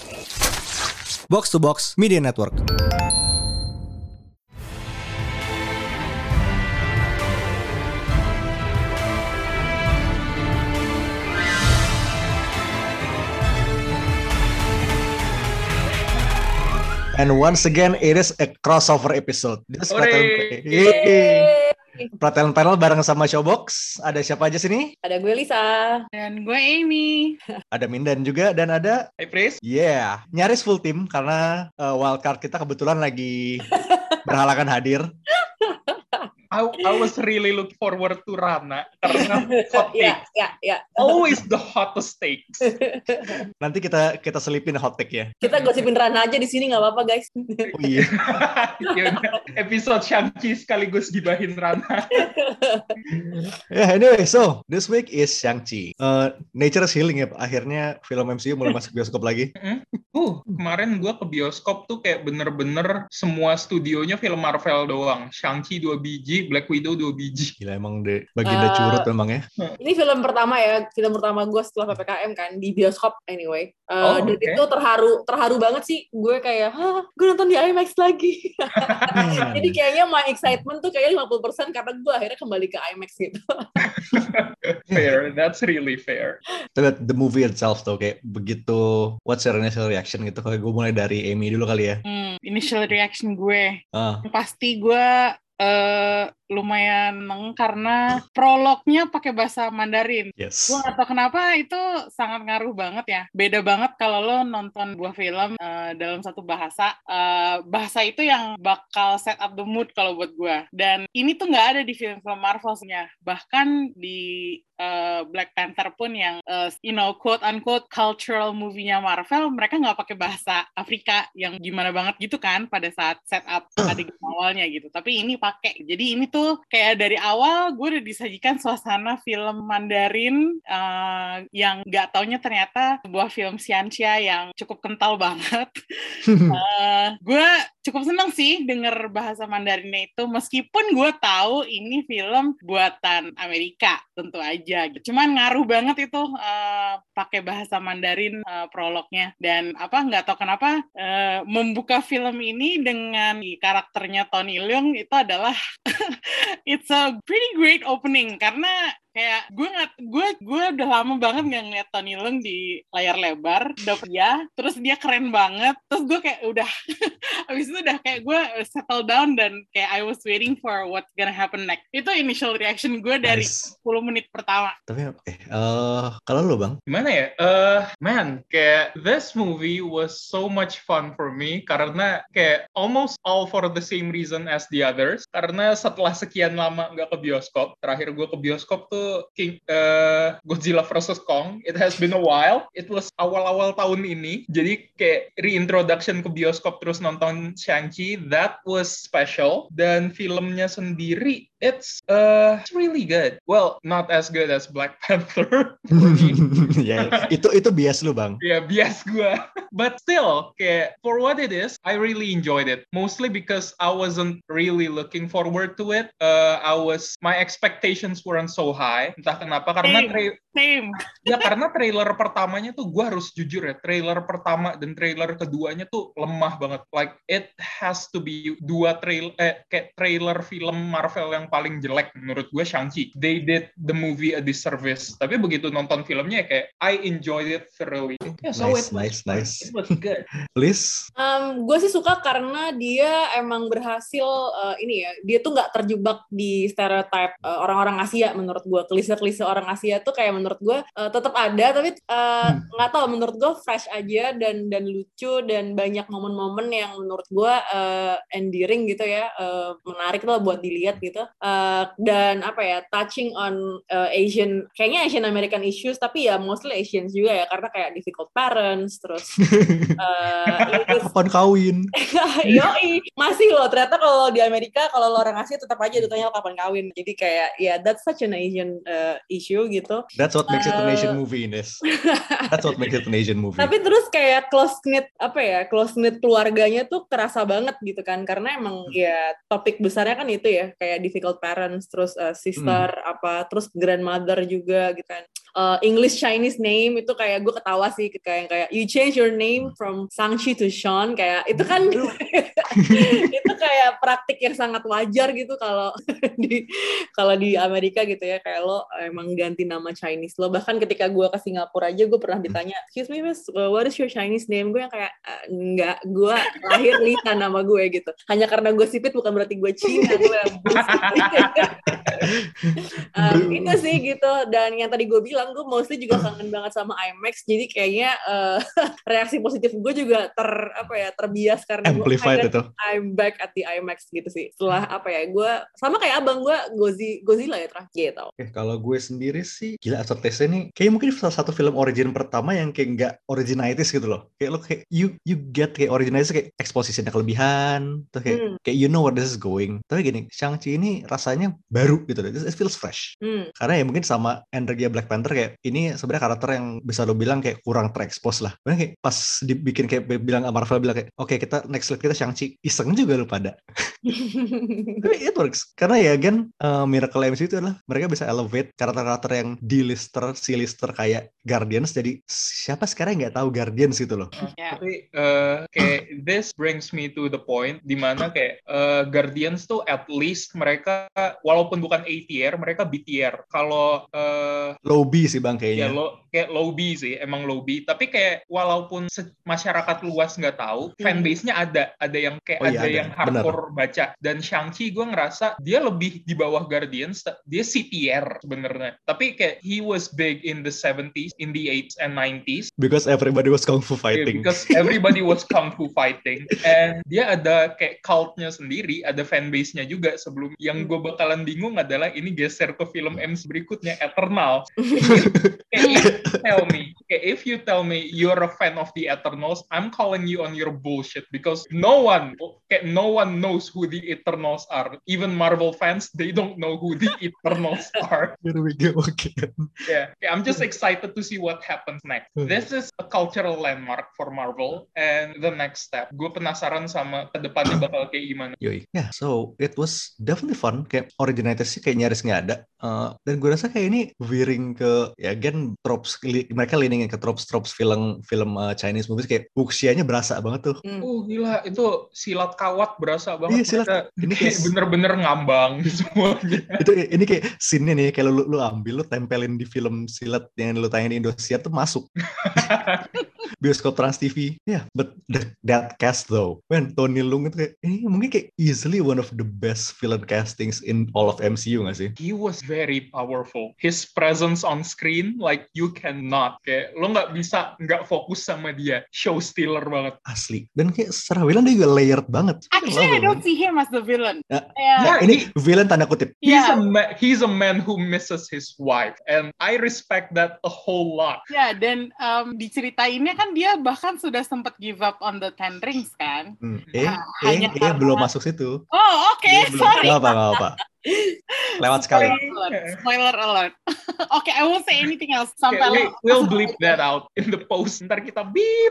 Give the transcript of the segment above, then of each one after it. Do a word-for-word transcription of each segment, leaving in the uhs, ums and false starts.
Box to Box Media Network. And once again, it is a crossover episode. This Perhatian panel bareng sama Showbox. Ada siapa aja sini? Ada gue Lisa. Dan gue Amy. Ada Mindan juga dan ada Hai Pris. Yeah, nyaris full team karena uh, wildcard kita kebetulan lagi berhalangan hadir. I, I was really looking forward to Rana karena hot take. Ya, ya, ya. Always the hottest takes. Nanti kita kita selipin hot take ya. Kita gosipin Rana aja di sini nggak apa-apa guys. Oh iya. Yaudah, episode Shang-Chi sekaligus gibahin Rana. Yeah, anyway, so this week is Shang-Chi. Uh, Nature is Healing ya. Akhirnya film M C U mulai masuk bioskop lagi. Uh, kemarin gue ke bioskop tuh kayak bener-bener semua studionya film Marvel doang. Shang-Chi dua biji, Black Widow dua biji. Gila emang deh, baginda uh, curut memang ya. Ini film pertama ya, film pertama gue setelah P P K M kan, di bioskop anyway. Uh, oh, dan okay. Itu terharu, terharu banget sih. Gue kayak, hah, gue nonton di IMAX lagi. Jadi kayaknya my excitement tuh kayaknya lima puluh persen karena gue akhirnya kembali ke IMAX gitu. Fair, that's really fair. Tapi the movie itself tuh kayak begitu, what's your initial reaction gitu? Kalau gue mulai dari Amy dulu kali ya. Hmm, initial reaction gue, ah. pasti gue uh, lumayan neng karena prolognya pakai bahasa Mandarin. Yes. Gue gak tau kenapa itu sangat ngaruh banget ya. Beda banget kalau lo nonton buah film uh, dalam satu bahasa. Uh, bahasa itu yang bakal set up the mood kalau buat gue. Dan ini tuh gak ada di film-film Marvel-nya. Bahkan di uh, Black Panther pun yang uh, you know quote-unquote cultural movie-nya Marvel, mereka gak pakai bahasa Afrika yang gimana banget gitu kan pada saat set up adegan awalnya gitu. Tapi ini pakai. Jadi ini tuh kayak dari awal gue udah disajikan suasana film Mandarin uh, yang gak taunya ternyata sebuah film Xianxia yang cukup kental banget. uh, gue cukup seneng sih denger bahasa Mandarinnya itu, meskipun gue tahu ini film buatan Amerika tentu aja. Cuman ngaruh banget itu uh, pakai bahasa Mandarin uh, prolognya, dan apa nggak tahu kenapa uh, membuka film ini dengan karakternya Tony Leung itu adalah it's a pretty great opening karena kayak gue nggak gue gue udah lama banget nggak ngeliat Tony Leung di layar lebar, dapet ya, terus dia keren banget, terus gue kayak udah abis itu udah kayak gue settle down dan kayak I was waiting for what's gonna happen next. Itu initial reaction gue dari nice. sepuluh menit pertama. Tapi eh uh, kalau lo bang? Gimana ya? Uh, man, kayak this movie was so much fun for me karena kayak almost all for the same reason as the others. Karena setelah sekian lama nggak ke bioskop, terakhir gue ke bioskop tuh King, uh, Godzilla versus Kong. It has been a while. It was awal-awal tahun ini. Jadi kayak reintroduction ke bioskop terus nonton Shang-Chi. That was special. Dan filmnya sendiri, it's uh, it's really good. Well, not as good as Black Panther. Ya, yeah, itu itu bias lu bang. Ya, yeah, bias gue. But still, kayak for what it is, I really enjoyed it. Mostly because I wasn't really looking forward to it. Uh, I was my expectations weren't so high. Entah kenapa karena same, tra- same. ya karena trailer pertamanya tuh gue harus jujur ya, trailer pertama dan trailer keduanya tuh lemah banget. Like it has to be dua trail eh kayak trailer film Marvel yang paling jelek menurut gue Shang-Chi. They did the movie a disservice. Tapi begitu nonton filmnya kayak I enjoyed it thoroughly. Yeah, so nice, it was, nice, nice. It was good. Liz? Um, gue sih suka karena dia emang berhasil uh, ini ya, dia tuh nggak terjebak di stereotype uh, orang-orang Asia menurut gue. Klise-klise orang Asia tuh kayak menurut gue uh, tetap ada, tapi nggak uh, tahu menurut gue fresh aja dan dan lucu dan banyak momen-momen yang menurut gue uh, endearing gitu ya, uh, menarik lah buat dilihat gitu. Uh, dan apa ya, touching on uh, Asian, kayaknya Asian American issues, tapi ya mostly Asians juga ya, karena kayak difficult parents, terus uh, kapan kawin? Yoi, masih loh ternyata kalau di Amerika kalau lo orang Asia tetap aja ditanya kapan kawin. Jadi kayak ya yeah, that's such an Asian uh, issue gitu. That's what makes uh, it an Asian movie, Ines. That's what makes it an Asian movie. Tapi terus kayak close knit apa ya, close knit keluarganya tuh kerasa banget gitu kan, karena emang hmm. ya topik besarnya kan itu ya, kayak difficult parents, terus uh, sister hmm. apa, terus grandmother juga gitu kan. uh, English Chinese name itu kayak gue ketawa sih, kayak kayak you change your name from Shang-Chi to Sean, kayak itu kan itu kayak praktik yang sangat wajar gitu kalau di kalau di Amerika gitu ya, kayak lo emang ganti nama Chinese lo. Bahkan ketika gue ke Singapura aja gue pernah ditanya, excuse me miss, what is your Chinese name? Gue yang kayak enggak, gue lahir Lisa nama gue gitu. Hanya karena gue sipit bukan berarti gue Cina. Gue um, itu sih gitu. Dan yang tadi gue bilang, gue mostly juga kangen banget sama IMAX. Jadi kayaknya uh, reaksi positif gue juga ter apa ya terbias karena amplified itu. I'm back at the IMAX gitu sih. Setelah apa ya, gue sama kayak abang gue Gozi, Godzilla ya terakhir gitu. Oke, kalau gue sendiri sih gila After Taste ini kayak mungkin salah satu film origin pertama yang kayak nggak originalitis gitu loh. Kayak lo kayak you you get kayak originalitis kayak expositionnya kelebihan, tuh kayak hmm. kayak you know where this is going. Tapi gini, Shang-Chi ini rasanya baru gitu loh. It feels fresh. Hmm. Karena ya mungkin sama energi Black Panther kayak ini sebenarnya karakter yang bisa lo bilang kayak kurang terekspos lah. Karena kayak pas dibikin kayak bilang Marvel bilang kayak oke okay, kita next lead kita Shang-Chi, iseng juga lo pada. Tapi it works. Karena ya kan uh, Miracle M C U itu adalah mereka bisa elevate karakter-karakter yang D-lister, C-lister kayak Guardians jadi siapa sekarang nggak tahu Guardians gitu loh. Uh, yeah. Tapi uh, kayak this brings me to the point dimana kayak uh, Guardians tuh at least mereka walaupun bukan A tier mereka B tier. Kalau uh, low B sih bang kayaknya. Ya lo kayak low B sih, emang low B. Tapi kayak walaupun se- masyarakat luas nggak tahu, hmm. fanbase-nya ada, ada yang kayak oh, iya, ada, ada yang hardcore bener. Baca. Dan Shang-Chi gue ngerasa dia lebih di bawah Guardians, dia C tier sebenarnya. Tapi kayak he was big in the seventies, in the eighties and nineties. Because everybody was kung fu fighting. Yeah, because everybody was kung fu fighting. And dia ada kayak cult-nya sendiri, ada fanbase-nya juga sebelum. Yang gue bakalan bingung adalah ini geser ke film M C U berikutnya, Eternal. Kayak tell me, okay, if you tell me you're a fan of the Eternals, I'm calling you on your bullshit because no one, okay, no one knows who the Eternals are. Even Marvel fans, they don't know who the Eternals are. Here we go again. Yeah, okay, I'm just excited to see what happens next. This is a cultural landmark for Marvel, and the next step. Gue penasaran sama kedepannya bakal kayak gimana. Yoi. Yeah, so it was definitely fun. Kayak originalitasnya kayak nyaris nggak ada. Uh, dan gue rasa kayak ini veering ke ya again tropes, mereka leaning ke tropes tropes film film uh, Chinese movies kayak wuxianya berasa banget tuh. Hmm. Uh gila itu silat kawat berasa banget. Iya silat. Ini kayak bener-bener ngambang semuanya. Itu ini kayak scene-nya nih kayak lu, lu ambil lu tempelin di film silat yang lu tayangin di Indosiar tuh masuk. Bioskop Trans T V. Yeah, but the, that cast though, when Tony Leung itu kayak ini mungkin kayak easily one of the best villain castings in all of M C U nggak sih? He was very powerful. His presence on screen like you cannot kayak lo nggak bisa nggak fokus sama dia. Show stealer banget. Asli. Dan kayak secara villain dia juga layered banget. Actually, I don't see him as the villain. Nah, yeah. Nah, ini he, villain tanda kutip. He's yeah. a ma- he's a man who misses his wife, and I respect that a whole lot. Ya, yeah, dan um, diceritainnya kan dia bahkan sudah sempat give up on the Ten Rings kan. Hmm. Eh, nah, eh, hanya eh, karena... belum masuk situ. Oh, oke, okay. Sorry. Gak apa, gak apa. Lewat sekali. Spoiler, Spoiler alert. Oke, okay, I won't say anything else. Sampai okay, we, we'll bleep that out in the post. Ntar kita beep.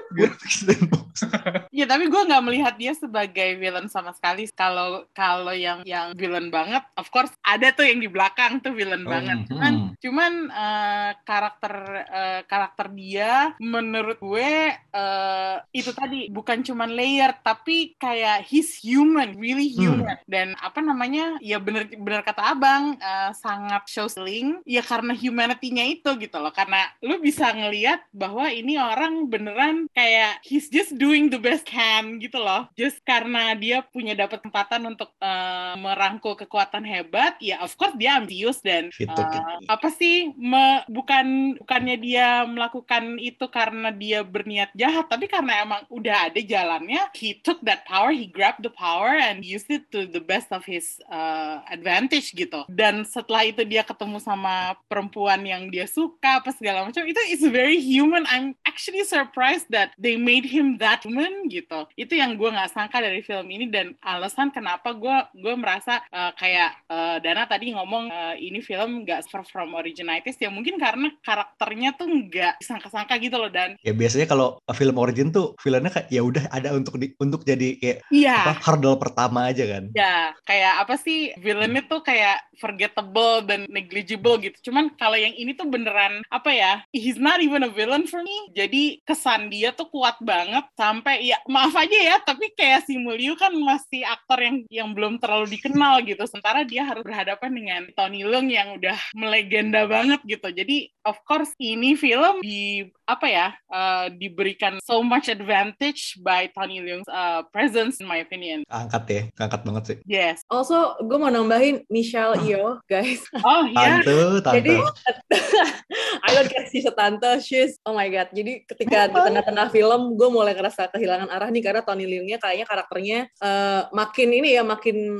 Ya, tapi gue nggak melihat dia sebagai villain sama sekali. Kalau kalau yang yang villain banget, of course ada tuh yang di belakang tuh villain oh, banget. Cuman hmm. cuman uh, karakter uh, karakter dia menurut gue uh, itu tadi bukan cuman layer, tapi kayak he's human, really human. Hmm. Dan apa namanya? Ya bener benar kata abang, uh, sangat show stealing ya karena humanity-nya itu gitu loh, karena lu bisa ngelihat bahwa ini orang beneran kayak he's just doing the best can gitu loh, just karena dia punya dapat kesempatan untuk uh, merangkul kekuatan hebat, ya of course dia ambisius dan uh, apa sih me, bukan bukannya dia melakukan itu karena dia berniat jahat, tapi karena emang udah ada jalannya, he took that power, he grabbed the power and used it to the best of his uh, advantage gitu. Dan setelah itu dia ketemu sama perempuan yang dia suka apa segala macam, itu is very human. I'm actually surprised that they made him that human gitu. gitu. Itu yang gue nggak sangka dari film ini, dan alasan kenapa gue gue merasa uh, kayak uh, Dana tadi ngomong uh, ini film nggak far from originalities, ya mungkin karena karakternya tuh nggak disangka-sangka gitu loh. Dan ya biasanya kalau film origin tuh filmnya kayak ya udah ada untuk di, untuk jadi kayak iya, apa hurdle pertama aja kan. Ya, kayak apa sih, villainnya tuh kayak forgettable dan negligible gitu. Cuman kalau yang ini tuh beneran, apa ya, he's not even a villain for me. Jadi kesan dia tuh kuat banget, sampai, ya maaf aja ya, tapi kayak si Simu kan masih aktor yang yang belum terlalu dikenal gitu. Sementara dia harus berhadapan dengan Tony Leung yang udah melegenda banget gitu. Jadi, of course, ini film di, apa ya, uh, diberikan so much advantage by Tony Leung's uh, presence, in my opinion. Angkat ya, angkat banget sih. Yes. Also, gue mau nambahin Michelle Yeoh, guys. Oh iya. Tante, tante. Jadi, I don't care she's a tante, she's, oh my god. Jadi ketika di tengah-tengah film, gue mulai ngerasa kehilangan arah nih, karena Tony Leung-nya kayaknya karakternya uh, makin ini ya, makin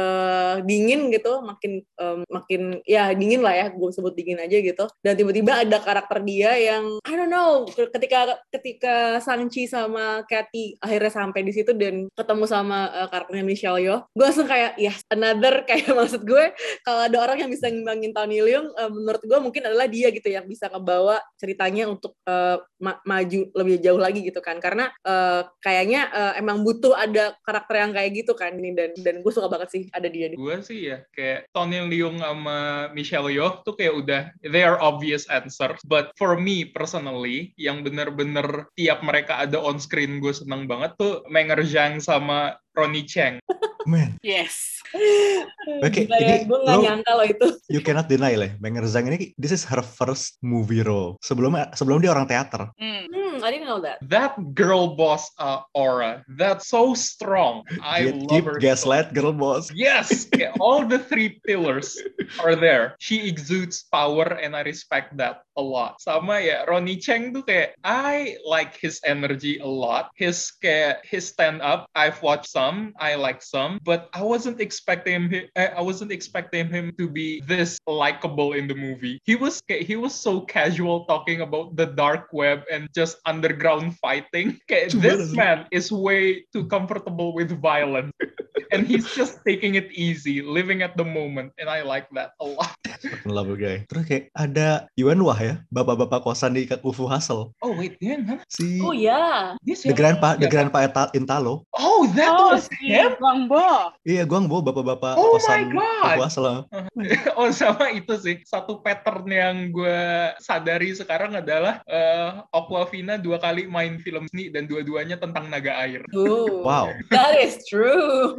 uh, dingin gitu, makin um, makin, ya dingin lah ya, gue sebut dingin aja gitu. Dan tiba-tiba ada karakter dia yang, I don't know, ketika ketika Shang-Chi sama Katy akhirnya sampai di situ dan ketemu sama uh, karakternya Michelle Yeoh, gue langsung kayak, yes, another, kayak maksud gue, kalau ada orang yang bisa ngimbangin Tony Leung, uh, menurut gue mungkin adalah dia gitu, yang bisa ngebawa ceritanya untuk uh, ma- maju lebih jauh lagi gitu kan, karena uh, kayaknya uh, emang butuh ada karakter yang kayak gitu kan ini, dan dan gue suka banget sih ada dia. Gue sih ya kayak Tony Leung sama Michelle Yeoh tuh kayak udah they are obvious answers, but for me personally yang bener-bener tiap mereka ada on screen gue seneng banget tuh Menger Zhang sama Ronny Cheng. Man. Yes. Oke, okay, ya, gue nggak nyangka loh itu. You cannot deny lah, Menger Zhang ini this is her first movie role. Sebelumnya sebelum dia orang teater. Hmm. Hmm, I didn't know that. That girl boss uh, aura, that's so strong. I Keep, love keep her. gaslight, so. girl boss. Yes, yeah, all the three pillars are there. She exudes power, and I respect that a lot. Sama ya, Ronny Cheng tuh kayak I like his energy a lot. His kayak his stand up, I've watched some, I like some, but I wasn't expecting him. I wasn't expecting him to be this likable in the movie. He was he was so casual talking about the dark web and just underground fighting. Kayak, this man is way too comfortable with violence. And he's just taking it easy, living at the moment, and I like that a lot. Fucking love guy. Terus kayak ada Yuan Wah ya, bapak-bapak kosan di U F O Hustle. Oh wait, yeah, huh? Si Oh ya, yeah. The Grandpa, The Grandpa Intalo. Oh, that oh, was si him. Guangbo. Iya, Guangbo, bapak-bapak oh kosan U F O Hustle. Oh, sama itu sih. Satu pattern yang gue sadari sekarang adalah uh, Awkwafina dua kali main film seni dan dua-duanya tentang naga air. Oh, wow. That is true.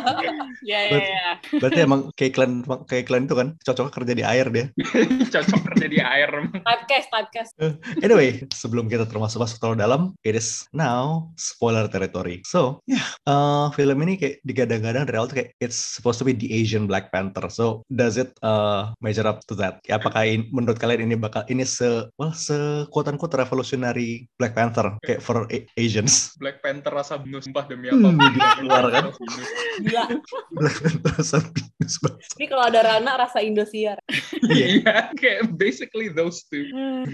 Ya, ya, ya. Berarti emang kayak iklan kayak iklan itu kan cocok kerja di air dia. Cocok kerja di air. Typecast, typecast. Anyway, sebelum kita termasuk masuk terlalu dalam, it is now spoiler territory. So, ya, yeah, uh, film ini kayak digadang-gadang dari awal tuh kayak it's supposed to be the Asian Black Panther. So, does it uh, measure up to that? Ya, apakah in, menurut kalian ini bakal ini se well se quote-unquote revolutionary Black Panther kayak for a- Asians? Black Panther rasa binus, sumpah demi apa? Hmm, keluar kan? Gila. Black Panther rasa binus banget. Ini kalau ada Rana rasa Indosiar. Iya, kayak basically those two.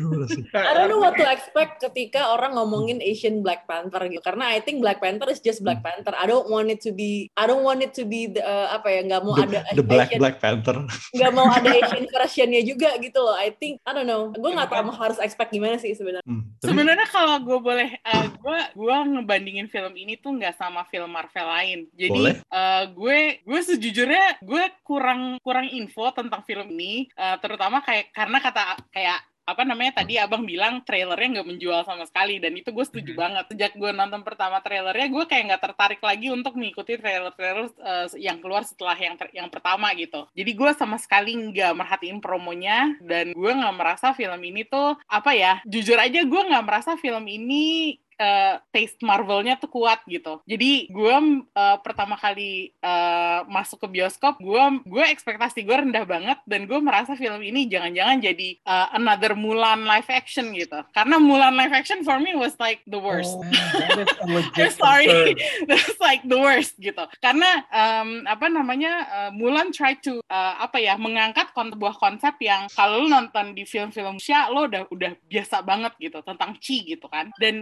I don't know what to expect ketika orang ngomongin Asian Black Panther gitu. Karena I think Black Panther is just Black Panther. I don't want it to be, I don't want it to be the, uh, apa ya, nggak mau the, ada the Black Asian, Black Panther. Nggak mau ada Asian versionnya juga gitu loh. I think, I don't know. Gue nggak tahu harus expect gimana sih sebenarnya. Hmm, tapi... Sebenarnya kalau gue boleh, uh, gue gue ngebandingin film ini tuh nggak sama film Marvel lain. Jadi uh, gue gue sejujurnya gue kurang kurang info tentang film ini, uh, terutama kayak karena kata kayak apa namanya tadi abang bilang trailernya nggak menjual sama sekali, dan itu gue setuju hmm. banget. Sejak gue nonton pertama trailernya, gue kayak nggak tertarik lagi untuk mengikuti trailer-trailer uh, yang keluar setelah yang ter- yang pertama gitu. Jadi gue sama sekali nggak merhatiin promonya, dan gue nggak merasa film ini tuh apa ya, jujur aja gue nggak merasa film ini Uh, taste Marvel-nya tuh kuat gitu. Jadi gue uh, pertama kali uh, masuk ke bioskop, gue gue ekspektasi gue rendah banget, dan gue merasa film ini jangan-jangan jadi uh, another Mulan live action gitu. Karena Mulan live action for me was like the worst. Oh, that is a legit I'm sorry, that's like the worst gitu. Karena um, apa namanya uh, Mulan try to uh, apa ya mengangkat sebuah konsep yang kalau lo nonton di film-film Asia lo udah udah biasa banget gitu tentang Chi gitu kan. Dan film ini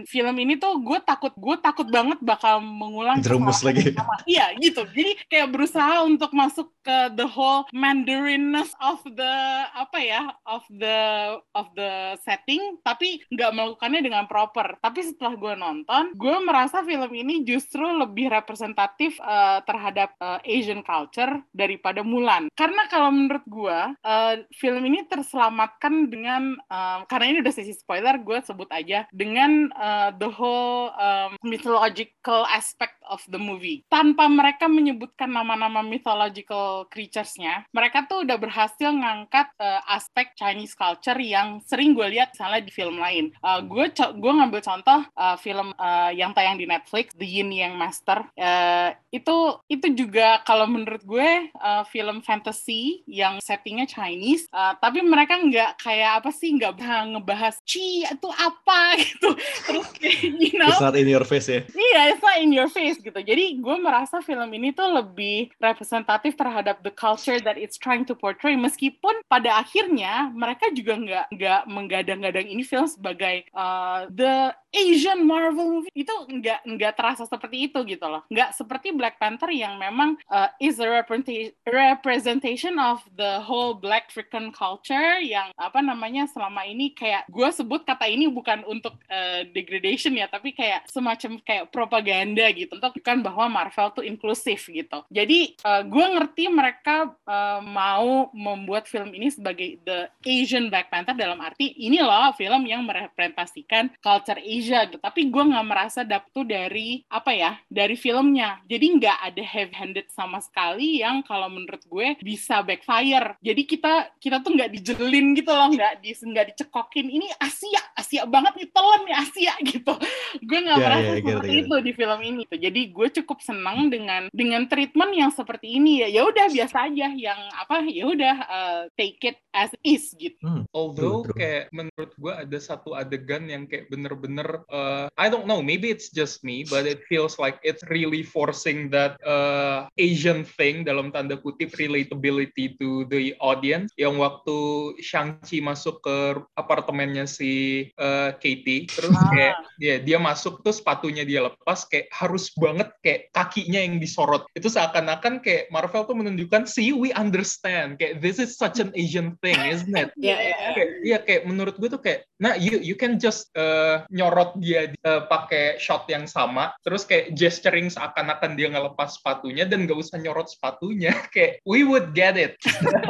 ini tuh gue takut gue takut banget bakal mengulang jerumus lagi. Iya gitu. Jadi kayak berusaha untuk masuk ke the whole Mandarinness of the apa ya of the of the setting, tapi nggak melakukannya dengan proper. Tapi setelah gue nonton, gue merasa film ini justru lebih representatif uh, terhadap uh, Asian culture daripada Mulan. Karena kalau menurut gue, uh, film ini terselamatkan dengan uh, karena ini udah sesi spoiler, gue sebut aja dengan uh, the whole um, mythological aspect of the movie. Tanpa mereka menyebutkan nama-nama mythological creatures-nya, mereka tuh udah berhasil ngangkat uh, aspek Chinese culture yang sering gue lihat misalnya di film lain. Uh, gue co- gue ngambil contoh uh, film uh, yang tayang di Netflix, The Yin Yang Master. Uh, itu itu juga kalau menurut gue uh, film fantasy yang settingnya Chinese, uh, tapi mereka nggak kayak apa sih, nggak ngebahas Chi itu apa gitu. Terus you know, it's not in your face ya. Iya, it's not in your face gitu. Jadi gue merasa film ini tuh lebih representatif terhadap the culture that it's trying to portray. Meskipun pada akhirnya mereka juga nggak nggak menggadang-gadang ini film sebagai uh, the Asian Marvel movie. Itu nggak nggak terasa seperti itu gitu loh. Nggak seperti Black Panther yang memang uh, is a representation of the whole Black African culture yang apa namanya selama ini kayak gue sebut kata ini bukan untuk uh, degradation ya, tapi kayak semacam kayak propaganda gitu untuk bukan bahwa Marvel tuh inklusif gitu. Jadi uh, gue ngerti mereka uh, mau membuat film ini sebagai the Asian Black Panther dalam arti ini loh film yang merepresentasikan culture Asia gitu. Tapi gue nggak merasa dapet tuh dari apa ya dari filmnya. Jadi nggak ada heavy-handed sama sekali yang kalau menurut gue bisa backfire. Jadi kita kita tuh nggak dijelin gitu loh, nggak di nggak dicekokin ini Asia Asia banget nih, telan nih Asia gitu. Gue nggak yeah, merasa yeah, seperti gitu, itu di film ini tuh. Jadi gue cukup senang dengan dengan treatment yang seperti ini ya. Ya udah biasa aja yang apa ya udah uh, take it as is gitu. Hmm, Although true, true. kayak menurut gue ada satu adegan yang kayak bener-bener uh, I don't know, maybe it's just me, but it feels like it's really forcing that uh, Asian thing dalam tanda kutip relatability to the audience. Yang waktu Shang-Chi masuk ke apartemennya si uh, Katie, terus Ah. kayak dia dia masuk tuh sepatunya dia lepas, kayak harus banget kayak kakinya yang disorot. Itu seakan-akan kayak Marvel tuh menunjukkan, see, we understand, kayak this is such an Asian thing, isn't it? Iya, iya. Kayak, iya kayak menurut gue tuh kayak, nah you you can just uh, nyorot dia uh, pakai shot yang sama, terus kayak gesturing seakan-akan dia ngelepas sepatunya dan gak usah nyorot sepatunya, kayak we would get it.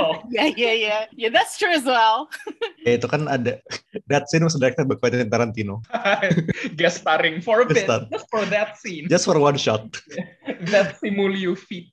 Ya ya ya, ya that's true as well. Ya itu kan ada that scene was directed by Quentin Tarantino. Guest starring for a Guest bit, star. just for that scene. Just for one shot. That Simulio feat.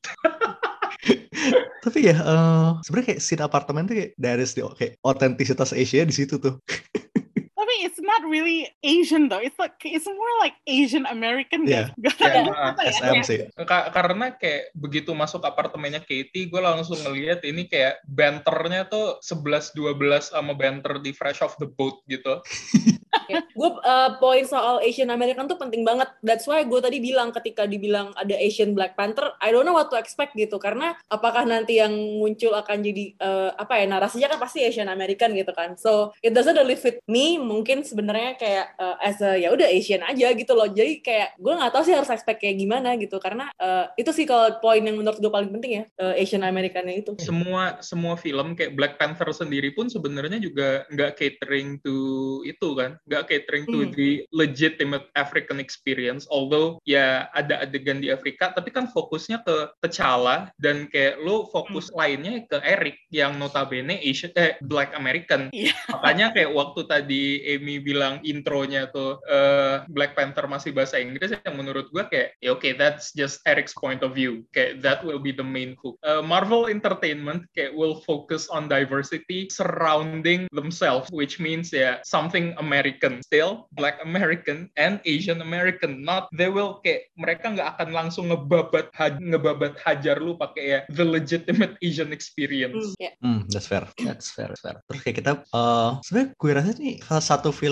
Tapi ya, uh, sebenarnya kayak scene apartemen tuh kayak there is the kayak otentisitas Asia di situ tuh. Tapi it's not really Asian though. It's like it's more like Asian American. Yeah. Gak Yeah, apa ya? S M sih. Ka- karena kayak begitu masuk apartemennya Katie, gue langsung ngeliat ini kayak banternya tuh eleven twelve sama banter di Fresh Off the Boat gitu. Ya. Gue uh, poin soal Asian American tuh penting banget. That's why gue tadi bilang ketika dibilang ada Asian Black Panther, I don't know what to expect gitu. Karena apakah nanti yang muncul akan jadi uh, apa ya narasinya kan pasti Asian American gitu kan. So it doesn't really fit me. Mungkin sebenarnya kayak uh, as a ya udah Asian aja gitu loh. Jadi kayak gue nggak tahu sih harus expect kayak gimana gitu. Karena uh, itu sih kalau poin yang menurut gue paling penting ya uh, Asian Americannya itu. Semua semua film kayak Black Panther sendiri pun sebenarnya juga nggak catering to itu kan. Nggak catering to Hmm. the legitimate African experience, although ya ada adegan di Afrika, tapi kan fokusnya ke T'Challa dan kayak lo fokus hmm. lainnya ke Eric yang notabene Asian, eh, Black American. Yeah. Makanya kayak waktu tadi Amy bilang intronya tuh uh, Black Panther masih bahasa Inggris, yang menurut gue kayak ya oke, okay, that's just Eric's point of view, kayak that will be the main hook. Uh, Marvel Entertainment kayak will focus on diversity surrounding themselves, which means ya yeah, something American still, Black American and Asian American. Not they will kayak mereka nggak akan langsung ngebabat ha- ngebabat hajar lu pakai ya the legitimate Asian experience. Hmm, yeah. Hmm, that's fair. That's fair. That's fair. Terus kayak kita, uh, sebenarnya gue rasa nih salah satu film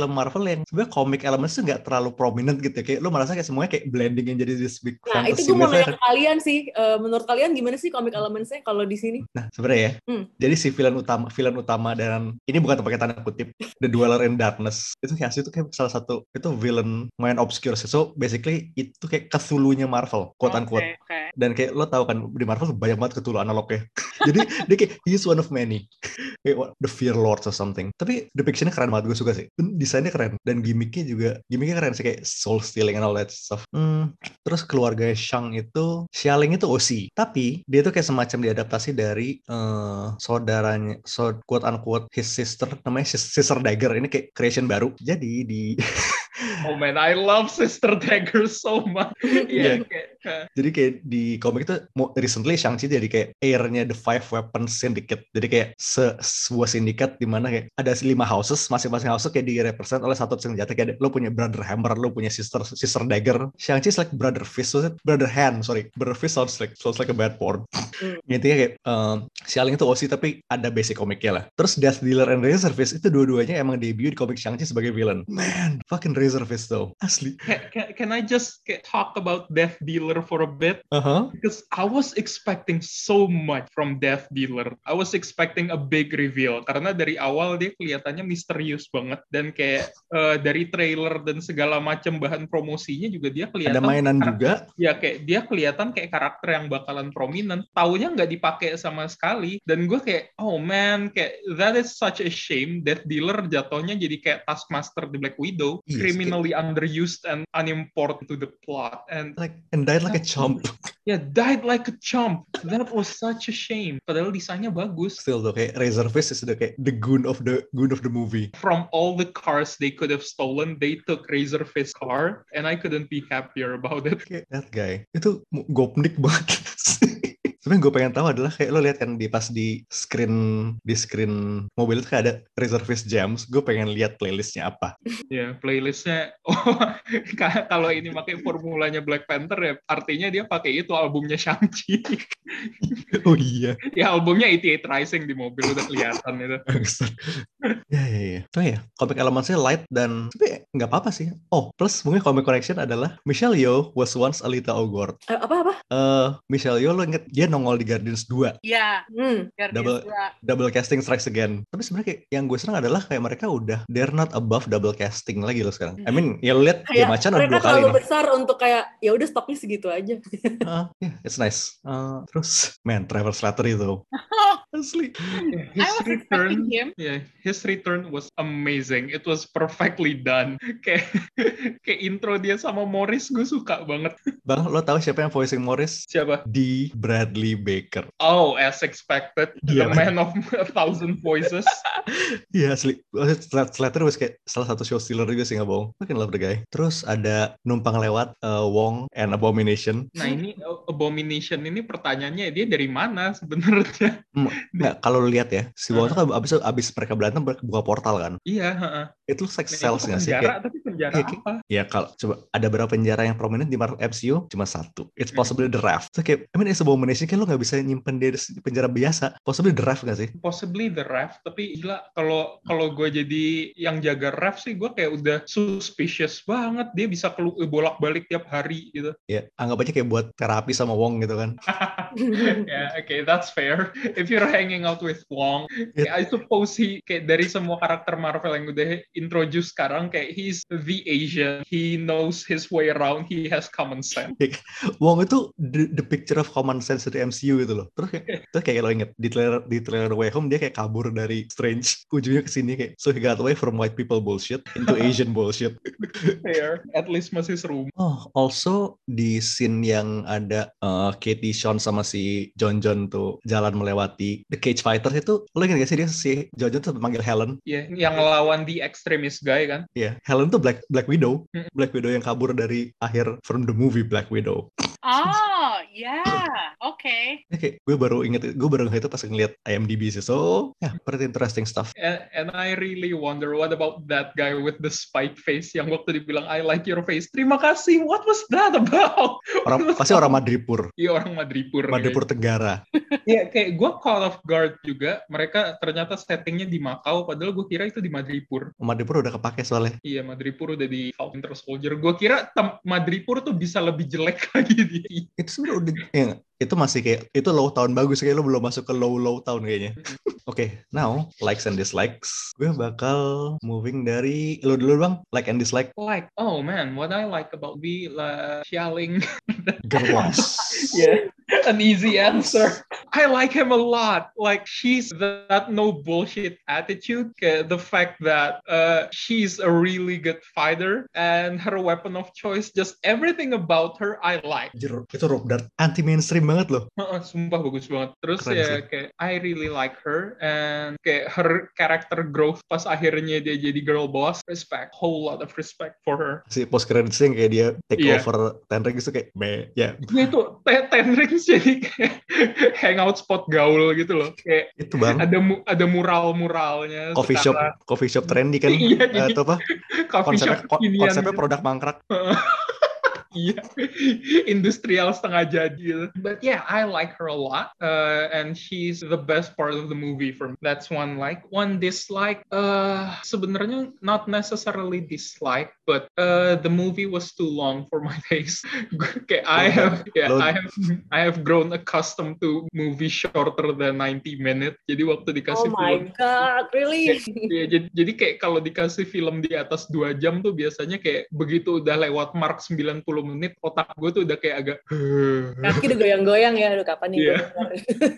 film Marvel yang sebenarnya comic elements tuh nggak terlalu prominent gitu ya. Kayak lo merasa kayak semuanya kayak blending yang jadi this big Nah, fantasy. itu gue mau myth. nanya ke kalian sih. Uh, menurut kalian gimana sih comic elements-nya kalau di sini? Nah, sebenarnya ya. Hmm. Jadi si villain utama, villain utama dan ini bukan pakai tanda kutip, The Dweller in Darkness. Itu kayak asli itu kayak salah satu itu villain main obscure. So basically itu kayak Cthulhu-nya Marvel, quote unquote. Okay, okay. Dan kayak lo tahu kan di Marvel banyak banget Cthulhu analognya. Jadi dia kayak he's one of many. Kayak what, the Fear Lords or something. Tapi depiction-nya keren banget, gue suka sih. Desainnya keren dan gimmicknya juga gimmicknya keren sih, kayak soul stealing and all that stuff. Hmm, terus keluarga Shang itu, Xialing itu O C. Tapi dia tuh kayak semacam diadaptasi dari uh, saudaranya, so quote unquote his sister, namanya Sister Dagger. Ini kayak creation baru. Jadi di Oh man, I love Sister Dagger so much. Iya. Yeah. Yeah. Jadi kayak di komik itu recently Shang-Chi jadi kayak heir-nya The Five Weapons Syndicate. Jadi kayak se sebuah sindikat di mana kayak ada lima houses, masing-masing house kayak di-represent oleh satu senjata. Kayak lo punya Brother Hammer, lo punya Sister Sister Dagger. Shang-Chi is like Brother Fist, so Brother Hand, sorry. Brother Fist sounds like sounds like a bad porn. Mm. Intinya kayak um, Xialing itu O C tapi ada basic komiknya lah. Terus Death Dealer and Razor Fist itu dua-duanya emang debut di komik Shang-Chi sebagai villain. Man, fucking Razor Fist though. Asli. Can, can, can I just get, talk about Death Dealer for a bit? Uh-huh. Because I was expecting so much from Death Dealer. I was expecting a big reveal. Karena dari awal dia kelihatannya misterius banget. Dan kayak uh, dari trailer dan segala macam bahan promosinya juga dia kelihatan. Ada mainan kayak, juga. Ya kayak dia kelihatan kayak karakter yang bakalan prominent. Taunya nggak dipakai sama sekali. Dan gue kayak, oh man, kayak that is such a shame. Death Dealer jatuhnya jadi kayak Taskmaster di Black Widow. Yes, criminally kayak underused and unimportant to the plot and like and died like a chump. Yeah, died like a chump. That was such a shame. Padahal desainnya bagus. Still though, kayak Razor Fist is the kayak the goon of the goon of the movie. From all the cars they could have stolen, they took Razor Fist car, and I couldn't be happier about it. Kayak that guy itu gopnik banget. Sebenarnya gue pengen tahu adalah kayak lo lihat kan di pas di screen di screen mobil itu kayak ada Razor Fist Jams. Gue pengen lihat playlistnya apa. Ya, yeah, playlistnya. Oh, kalau ini pakai formulanya Black Panther ya, artinya dia pakai itu albumnya Shang-Chi. Oh iya. Ya albumnya eighty-eight Rising di mobil udah kelihatan itu. Ya ya ya. Tuh ya, komik elemennya light dan tapi nggak apa-apa sih. Oh, plus mungkin komik correction adalah Michelle Yeoh was once Alita Ogord. Uh, apa apa? Eh, uh, Michelle Yeoh lo inget dia nongol di Guardians two. Iya. Hmm, double dua. Double casting strikes again. Tapi sebenarnya kayak yang gue senang adalah kayak mereka udah they're not above double casting lagi loh sekarang. I mean, ya lo lihat dia Macan ada dua kali. Mereka terlalu besar untuk kayak ya udah stoknya segitu aja. uh, yeah, it's nice. Uh, terus, man, Trevor Slattery itu. Asli. Yeah, his return, him. Yeah, his return was amazing. It was perfectly done. Kayak kayak intro dia sama Morris gue suka banget. Bang, lo tahu siapa yang voicing Morris? Siapa? D. Bradley Baker. Oh, as expected. Yeah. The man of a thousand voices. Iya, yeah, asli. Slattery was kayak salah satu show stealer juga sih, nggak bohong. Fucking love the guy. Terus ada numpang lewat uh, Wong and Abomination. Nah ini Abomination ini pertanyaannya dia dari mana sebenarnya? Nggak, kalau lu lihat ya, si Wong itu kan abis, abis mereka berantem buka portal kan? Iya. Uh-uh. Itu like nah, cells nggak sih? Penjara, tapi penjara ya, apa? Ya kalau coba ada berapa penjara yang prominent di Marvel M C U? Cuma satu. It's possibly the Raft. So kayak, I mean, it's Abomination kan lu nggak bisa nyimpen dia di penjara biasa. Possibly the Raft nggak sih? Possibly the Raft, tapi gila kalau kalau gue jadi yang jaga Raft sih, gue kayak udah suspicious banget. Dia bisa kelu- bolak-balik tiap hari gitu. Ya, anggap aja kayak buat terapi sama Wong gitu kan. Yeah, okay, that's fair. If you're hanging out with Wong, yeah. I suppose he kayak dari semua karakter Marvel yang udah introduce sekarang, kayak he's the Asian. He knows his way around. He has common sense. Wong itu the, the picture of common sense dari M C U gitu loh. Terus kayak, terus kayak lo inget di trailer di trailer Way Home dia kayak kabur dari Strange, ujungnya kesini kayak so he got away from white people bullshit into Asian bullshit. Fair, at least masih seru. Oh, also di scene yang ada uh, Katie Sean sama si John John tuh jalan melewati The Cage Fighters itu, lo ingat gak sih dia si John John tuh manggil Helen? Iya, yeah, yang lawan the extremist guy kan? Iya, yeah. Helen tuh Black Black Widow, mm-hmm. Black Widow yang kabur dari akhir from the movie Black Widow. Oh, yeah, oke. Okay. Kayak gue baru inget, gue baru inget itu pas ngeliat I M D B sih. So, ya, yeah, pretty interesting stuff. And, and I really wonder, what about that guy with the spike face yang waktu dibilang I like your face? Terima kasih. What was that about? Orang pasti orang Madripur. Iya, orang Madripur. Madripur Tenggara. Iya, kayak gue call off guard juga. Mereka ternyata settingnya di Macau, padahal gue kira itu di Madripur. Madripur udah kepake soalnya. Iya, Madripur udah di Winter Soldier. Gue kira tem- Madripur tuh bisa lebih jelek lagi di. Itu sebenarnya udah, ya, itu masih kayak itu low tahun bagus, kayak lo belum masuk ke low low tahun kayaknya. Oke, okay, now likes and dislikes. Gue bakal moving dari lo dulu bang, like and dislike. Like, oh man, what I like about B, like Xialing. Girls. Yeah, an easy answer. I like him a lot. Like, she's that no bullshit attitude. The fact that uh, she's a really good fighter and her weapon of choice, just everything about her I like. Itu Rob Dart anti mainstream banget loh. Sumpah bagus banget. Terus Keren ya sih. kayak I really like her, and kayak her character growth pas akhirnya dia jadi girl boss, respect, whole lot of respect for her. Si post credits yang kayak dia take Yeah. over Ten Rings itu kayak me, ya. Gue tuh Ten Rings jadi kayak hangout spot gaul gitu loh. Kayak Itu bang. ada mu- ada mural-muralnya. Coffee shop, secara- coffee shop trendy kan? Iya, Eh, jadi atau apa? coffee Konsepnya, shop ko- kekinian konsepnya gitu. produk mangkrak. Iya, industrial setengah jadi. But yeah, I like her a lot, uh, and she's the best part of the movie for me. That's one like. One dislike, uh, sebenarnya not necessarily dislike, but uh, the movie was too long for my taste. Kayak I have, yeah, Lo- I have, I have grown accustomed to movies shorter than ninety minutes. Jadi waktu Oh dikasih my film, god, really? ya, jadi, jadi kayak kalau dikasih film di atas dua jam tuh biasanya kayak begitu udah lewat mark sembilan puluh menit, otak gue tuh udah kayak agak Kaki udah goyang-goyang ya, aduh kapan nih Iya. gue keluar?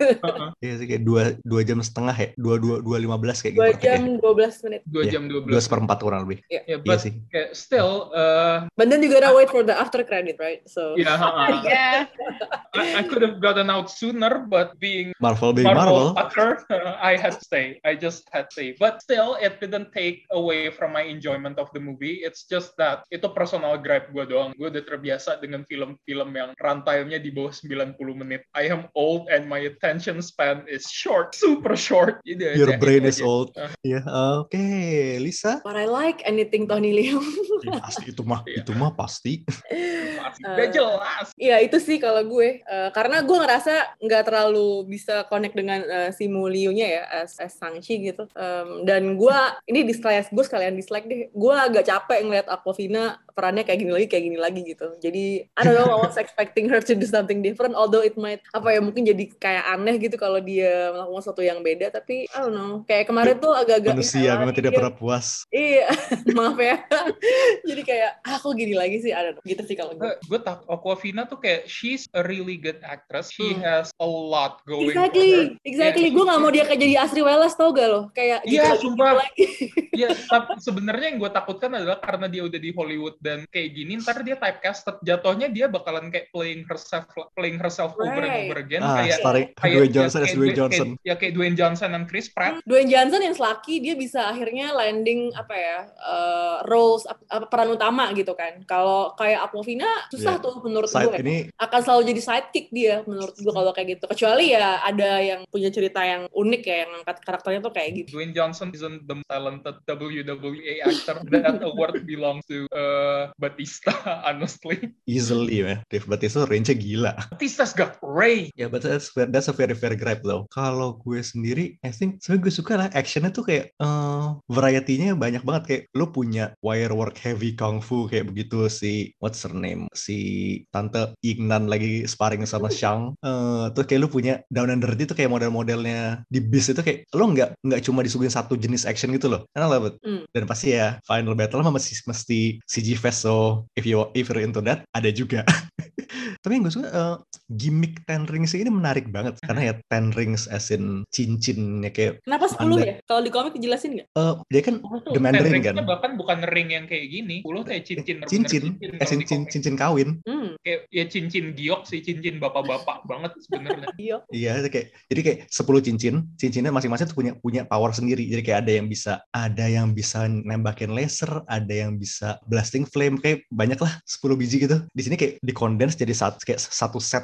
Iya sih kayak dua dua jam setengah ya, dua dua dua lima belas kayak Dua gitu. jam dua belas menit. dua Iya, jam dua Dua belas. seperempat kurang lebih. Ya, Iya but sih. kayak still, uh, But then you gotta wait for the after credit, right? So ya, uh, Yeah. I, I could have gotten out sooner, but being Marvel being Marvel Marvel. fucker, uh, I had to stay. I just had to stay. But still, it didn't take away from my enjoyment of the movie. It's just that itu personal gripe gue doang. Gue udah terbiasa dengan film-film yang runtime-nya di bawah sembilan puluh menit. I am old and my attention span is short, super short. Jadi Your aja, brain itu is aja. old. Uh, Iya, oke, Lisa. what I like anything Tony Leung. Ya, pasti itu mah, Iya. itu mah pasti. pasti. Udah jelas. Iya itu sih kalau gue, uh, karena gue ngerasa nggak terlalu bisa connect dengan uh, si Mu Liu-nya ya, as, as Shang-Chi gitu. Um, dan gue, ini dislike, gue sekalian dislike deh, gue agak capek ngeliat Awkwafina perannya kayak gini lagi, kayak gini lagi gitu. Jadi, I don't know, I was expecting her to do something different, although it might, apa ya, mungkin jadi kayak aneh gitu kalau dia melakukan sesuatu yang beda, tapi I don't know, kayak kemarin tuh agak-agak Manusia ya, memang tidak dia- pernah puas. Iya, maaf ya. Jadi kayak, ah kok gini lagi sih, I don't know. Gitu sih kalau gue. Gue tak Awkwafina tuh kayak she's a really good actress. She Hmm. has a lot going Exactly, for her. exactly. Yeah. Gue gak mau dia kayak jadi Asri Welas, tau gak lo? Kayak gitu Iya, lagi, sumpah. gitu lagi. Ya, tapi sebenarnya yang gue takutkan adalah karena dia udah di Hollywood dan kayak gini, ntar dia typecasted. Jatuhnya dia bakalan kayak playing herself, playing herself over and Right. over again. Ah, kayak starring kayak Dwayne Johnson ya, as kayak Dwayne Dwayne- Johnson. kayak- ya kayak Dwayne Johnson dan Chris Pratt. Dwayne Johnson yang selaki, dia bisa akhirnya landing apa ya, uh, roles, ap- apa, peran utama gitu kan. Kalau kayak Awkwafina, susah Yeah. tuh menurut Side gue. ini Akan selalu jadi sidekick dia menurut gue kalau kayak gitu. Kecuali ya ada yang punya cerita yang unik ya, yang angkat karakternya tuh kayak gitu. Dwayne Johnson isn't the most talented W W E actor. That award belongs to uh, Batista, honestly. easily ya. Dave Bautista range-nya gila. Batista's got Ray. Ya, yeah, but that's, that's a very very gripe though. Kalau gue sendiri, I think sebenarnya gue suka lah actionnya tuh kayak uh, variety-nya banyak banget. Kayak lu punya wire work heavy kung fu kayak begitu si what's her name si tante Yingnan lagi sparring sama Shang. Uh, terus kayak lu punya Down and Dirty tuh kayak model-modelnya di Beast itu kayak lo nggak nggak cuma disuguhin satu jenis action gitu loh. Karena lah, Hmm. dan pasti ya final battle mah mesti mesti C G fest, so if you if you're into that ada juga. Tapi yang gue suka uh, gimmick Ten Rings ini menarik banget karena ya Ten Rings as in cincinnya kayak Kenapa sepuluh Anda- ya? Kalau di komik dijelasin nggak? uh, dia kan Oh, tuh, The Mandarin ten kan? ringsnya bahkan bukan ring yang kayak gini. Puluh kayak cincin. bener-bener cincin, kalau as in di cin- komik. cincin kawin. Hmm, Kayak ya cincin giok sih, cincin bapak-bapak banget sebenarnya. iya. Iya, itu kayak jadi kayak sepuluh cincin, cincinnya masing-masing tuh punya punya power sendiri. Jadi kayak ada yang bisa ada yang bisa nembakin laser, ada yang bisa blasting flame, kayak banyak lah sepuluh biji gitu. Di sini kayak dikondens jadi satu kayak satu set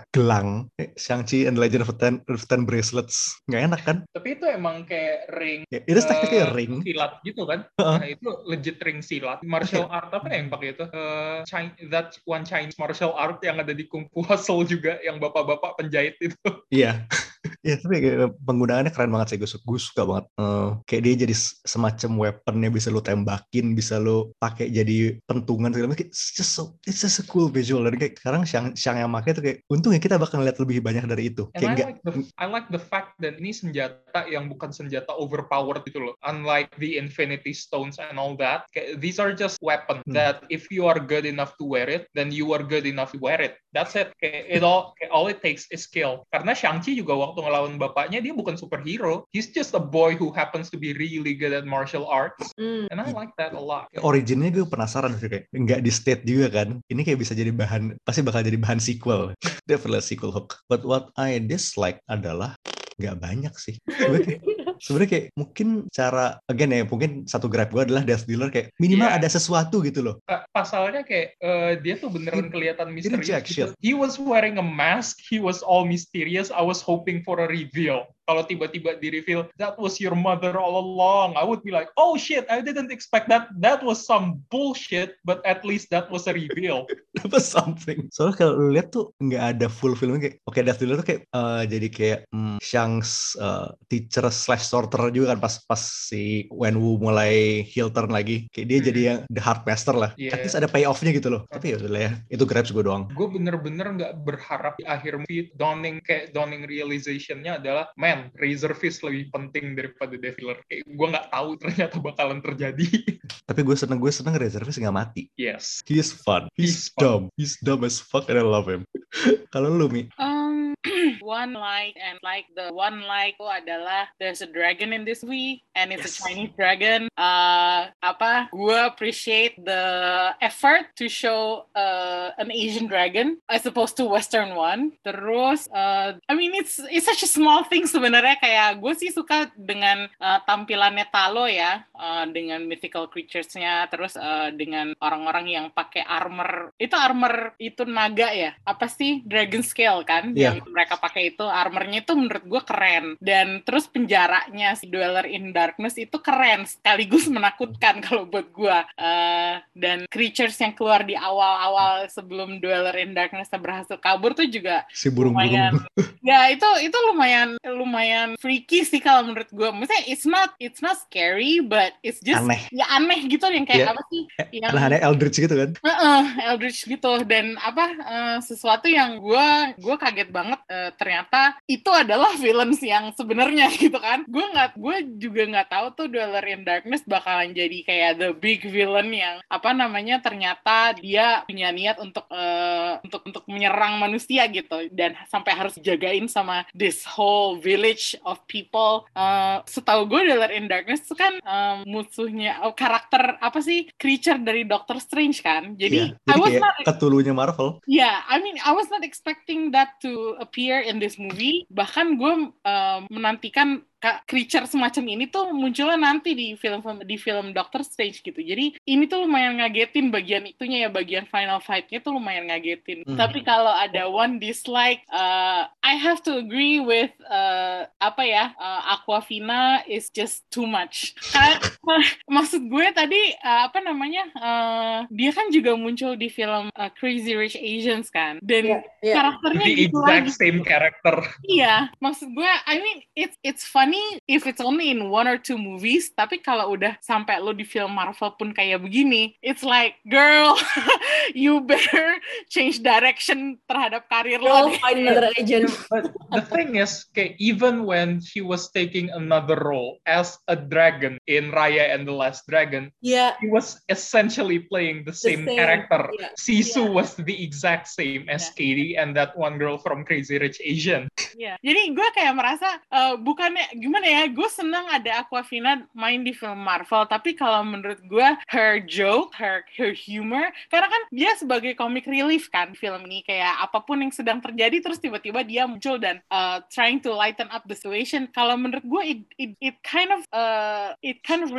gelang, eh, Shang-Chi and the Legend of the Ten, of the Ten Bracelets, nggak enak kan? Tapi itu emang kayak ring, Ya, it is technically a uh, ring. silat gitu kan? Uh-uh. Nah, itu legit ring silat. Martial Okay. art apa ya yang pakai itu? Uh, China, that one Chinese martial art yang ada di Kung Fu Hustle juga, yang bapak-bapak penjahit itu. Iya. Ya tapi kayak penggunaannya keren banget sih, gue suka, gue suka banget. Uh, kayak dia jadi semacam weaponnya, bisa lu tembakin, bisa lu pakai jadi pentungan segala macam. It's just so, it's just a cool visual. Dan kayak sekarang Shang, Shang yang pakai tuh kayak, untungnya kita bakal lihat lebih banyak dari itu. And Kayak I enggak, like the I like the fact that ini senjata yang bukan senjata overpowered gitu loh. Unlike the Infinity Stones and all that, kayak, these are just weapons hmm. that if you are good enough to wear it, then you are good enough to wear it. That's it. Kayak, it all kayak, all it takes is skill. Karena Shang-Chi juga waktu ngelawan bapaknya, dia bukan superhero. He's just a boy who happens to be really good at martial arts. Mm. And I like that a lot. Originnya gue penasaran sih, kayak nggak di state juga kan. Ini kayak bisa jadi bahan, pasti bakal jadi bahan sequel. Definitely sequel hook. But what I dislike adalah nggak banyak sih. Sebenarnya kayak mungkin cara, again ya, mungkin satu grab gue adalah Death Dealer kayak minimal yeah. ada sesuatu gitu loh. Pasalnya kayak uh, dia tuh beneran he, kelihatan misterius gitu. shit. He was wearing a mask, he was all mysterious. I was hoping for a reveal. Kalau tiba-tiba di-reveal, that was your mother all along, I would be like, oh shit, I didn't expect that. That was some bullshit, but at least that was a reveal. That was something. Soalnya kalau lu lihat tuh nggak ada full filmnya kayak, oke, okay, Death Dealer tuh kayak uh, jadi kayak hmm, Shang's uh, teacher slash sorter juga kan pas pas si Wenwu mulai heel turn lagi. Kayak dia hmm. jadi yang the hard master lah. Yeah. At least ada payoff-nya gitu loh. Tapi ya udah ya, itu grabs gue doang. Gue bener-bener nggak berharap di akhir movie dawning kayak dawning realization-nya adalah, man, Razor Fist lebih penting daripada Death Dealer. Kayak gue nggak tahu ternyata bakalan terjadi. Tapi gue seneng gue seneng Razor Fist nggak mati. Yes. He's fun. He's, He's dumb. Fun. He's dumb as fuck and I love him. Kalau lu, Mi? Um, one like and like the one like itu adalah there's a dragon in this movie and it's yes. a Chinese dragon. Uh, apa? Gue appreciate the effort to show uh, an Asian dragon as opposed to Western one. Terus, uh, I mean it's it's such a small thing sebenarnya. Kayak gue sih suka dengan uh, tampilannya Talo ya, uh, dengan mythical creatures-nya. Terus uh, dengan orang-orang yang pakai armor. Itu armor itu naga ya? Apa sih? Dragon scale kan? Yeah. Yang mereka pakai itu armornya itu menurut gue keren. Dan terus penjaranya si Dweller in Darkness itu keren sekaligus menakutkan kalau buat gue. Uh, dan creatures yang keluar di awal-awal sebelum Dweller in Darkness berhasil kabur tuh juga si burung-burung. Ya itu itu lumayan lumayan freaky sih kalau menurut gue. Maksudnya it's not it's not scary but it's just aneh. Ya aneh gitu yang kayak yeah. apa sih? Yang aneh-aneh Eldritch gitu kan? Uh-uh, Eldritch gitu dan apa uh, sesuatu yang gue gue kaget banget uh, ternyata itu adalah villains yang sebenarnya gitu kan. Gue nggak gue juga nggak tahu tuh Dweller in Darkness bakalan jadi kayak the big villain yang apa namanya ternyata dia punya niat untuk uh, untuk untuk menyerang manusia gitu dan sampai harus jagain sama this whole village of people. Uh, setahu gue Dweller in Darkness itu kan um, musuhnya oh, karakter apa sih creature dari Doctor Strange kan. Jadi, yeah, jadi I was kayak not Cthulhu-nya Marvel. Yeah, I mean I was not expecting that to appear in this movie. Bahkan gue uh, menantikan creature semacam ini tuh munculnya nanti di film di film Doctor Strange gitu. Jadi ini tuh lumayan ngagetin bagian itunya ya, bagian final fight-nya tuh lumayan ngagetin. Hmm. Tapi kalau ada one dislike, uh, I have to agree with uh, apa ya, uh, Awkwafina is just too much. Karena maksud gue tadi uh, apa namanya, uh, dia kan juga muncul di film uh, Crazy Rich Asians kan, dan yeah, yeah. karakternya the gitu exact lagi. Same character. Iya, maksud gue, I mean it's it's fun if it's only in one or two movies, tapi kalau udah sampai lo di film Marvel pun kayak begini, it's like, girl, you better change direction terhadap karir lo. You'll find another agent. But the thing is, okay, even when he was taking another role as a dragon in Raya and the Last Dragon, yeah. he was essentially playing the same, the same character. Yeah. Sisu yeah. was the exact same as yeah. Katie and that one girl from Crazy Rich Asian. Yeah. Jadi gue kayak merasa, uh, bukannya gimana ya, gue seneng ada Awkwafina main di film Marvel, tapi kalau menurut gue her joke, her her humor, karena kan dia sebagai comic relief kan film ini, kayak apapun yang sedang terjadi terus tiba-tiba dia muncul dan uh, trying to lighten up the situation. Kalau menurut gue it, it it kind of uh, it kind of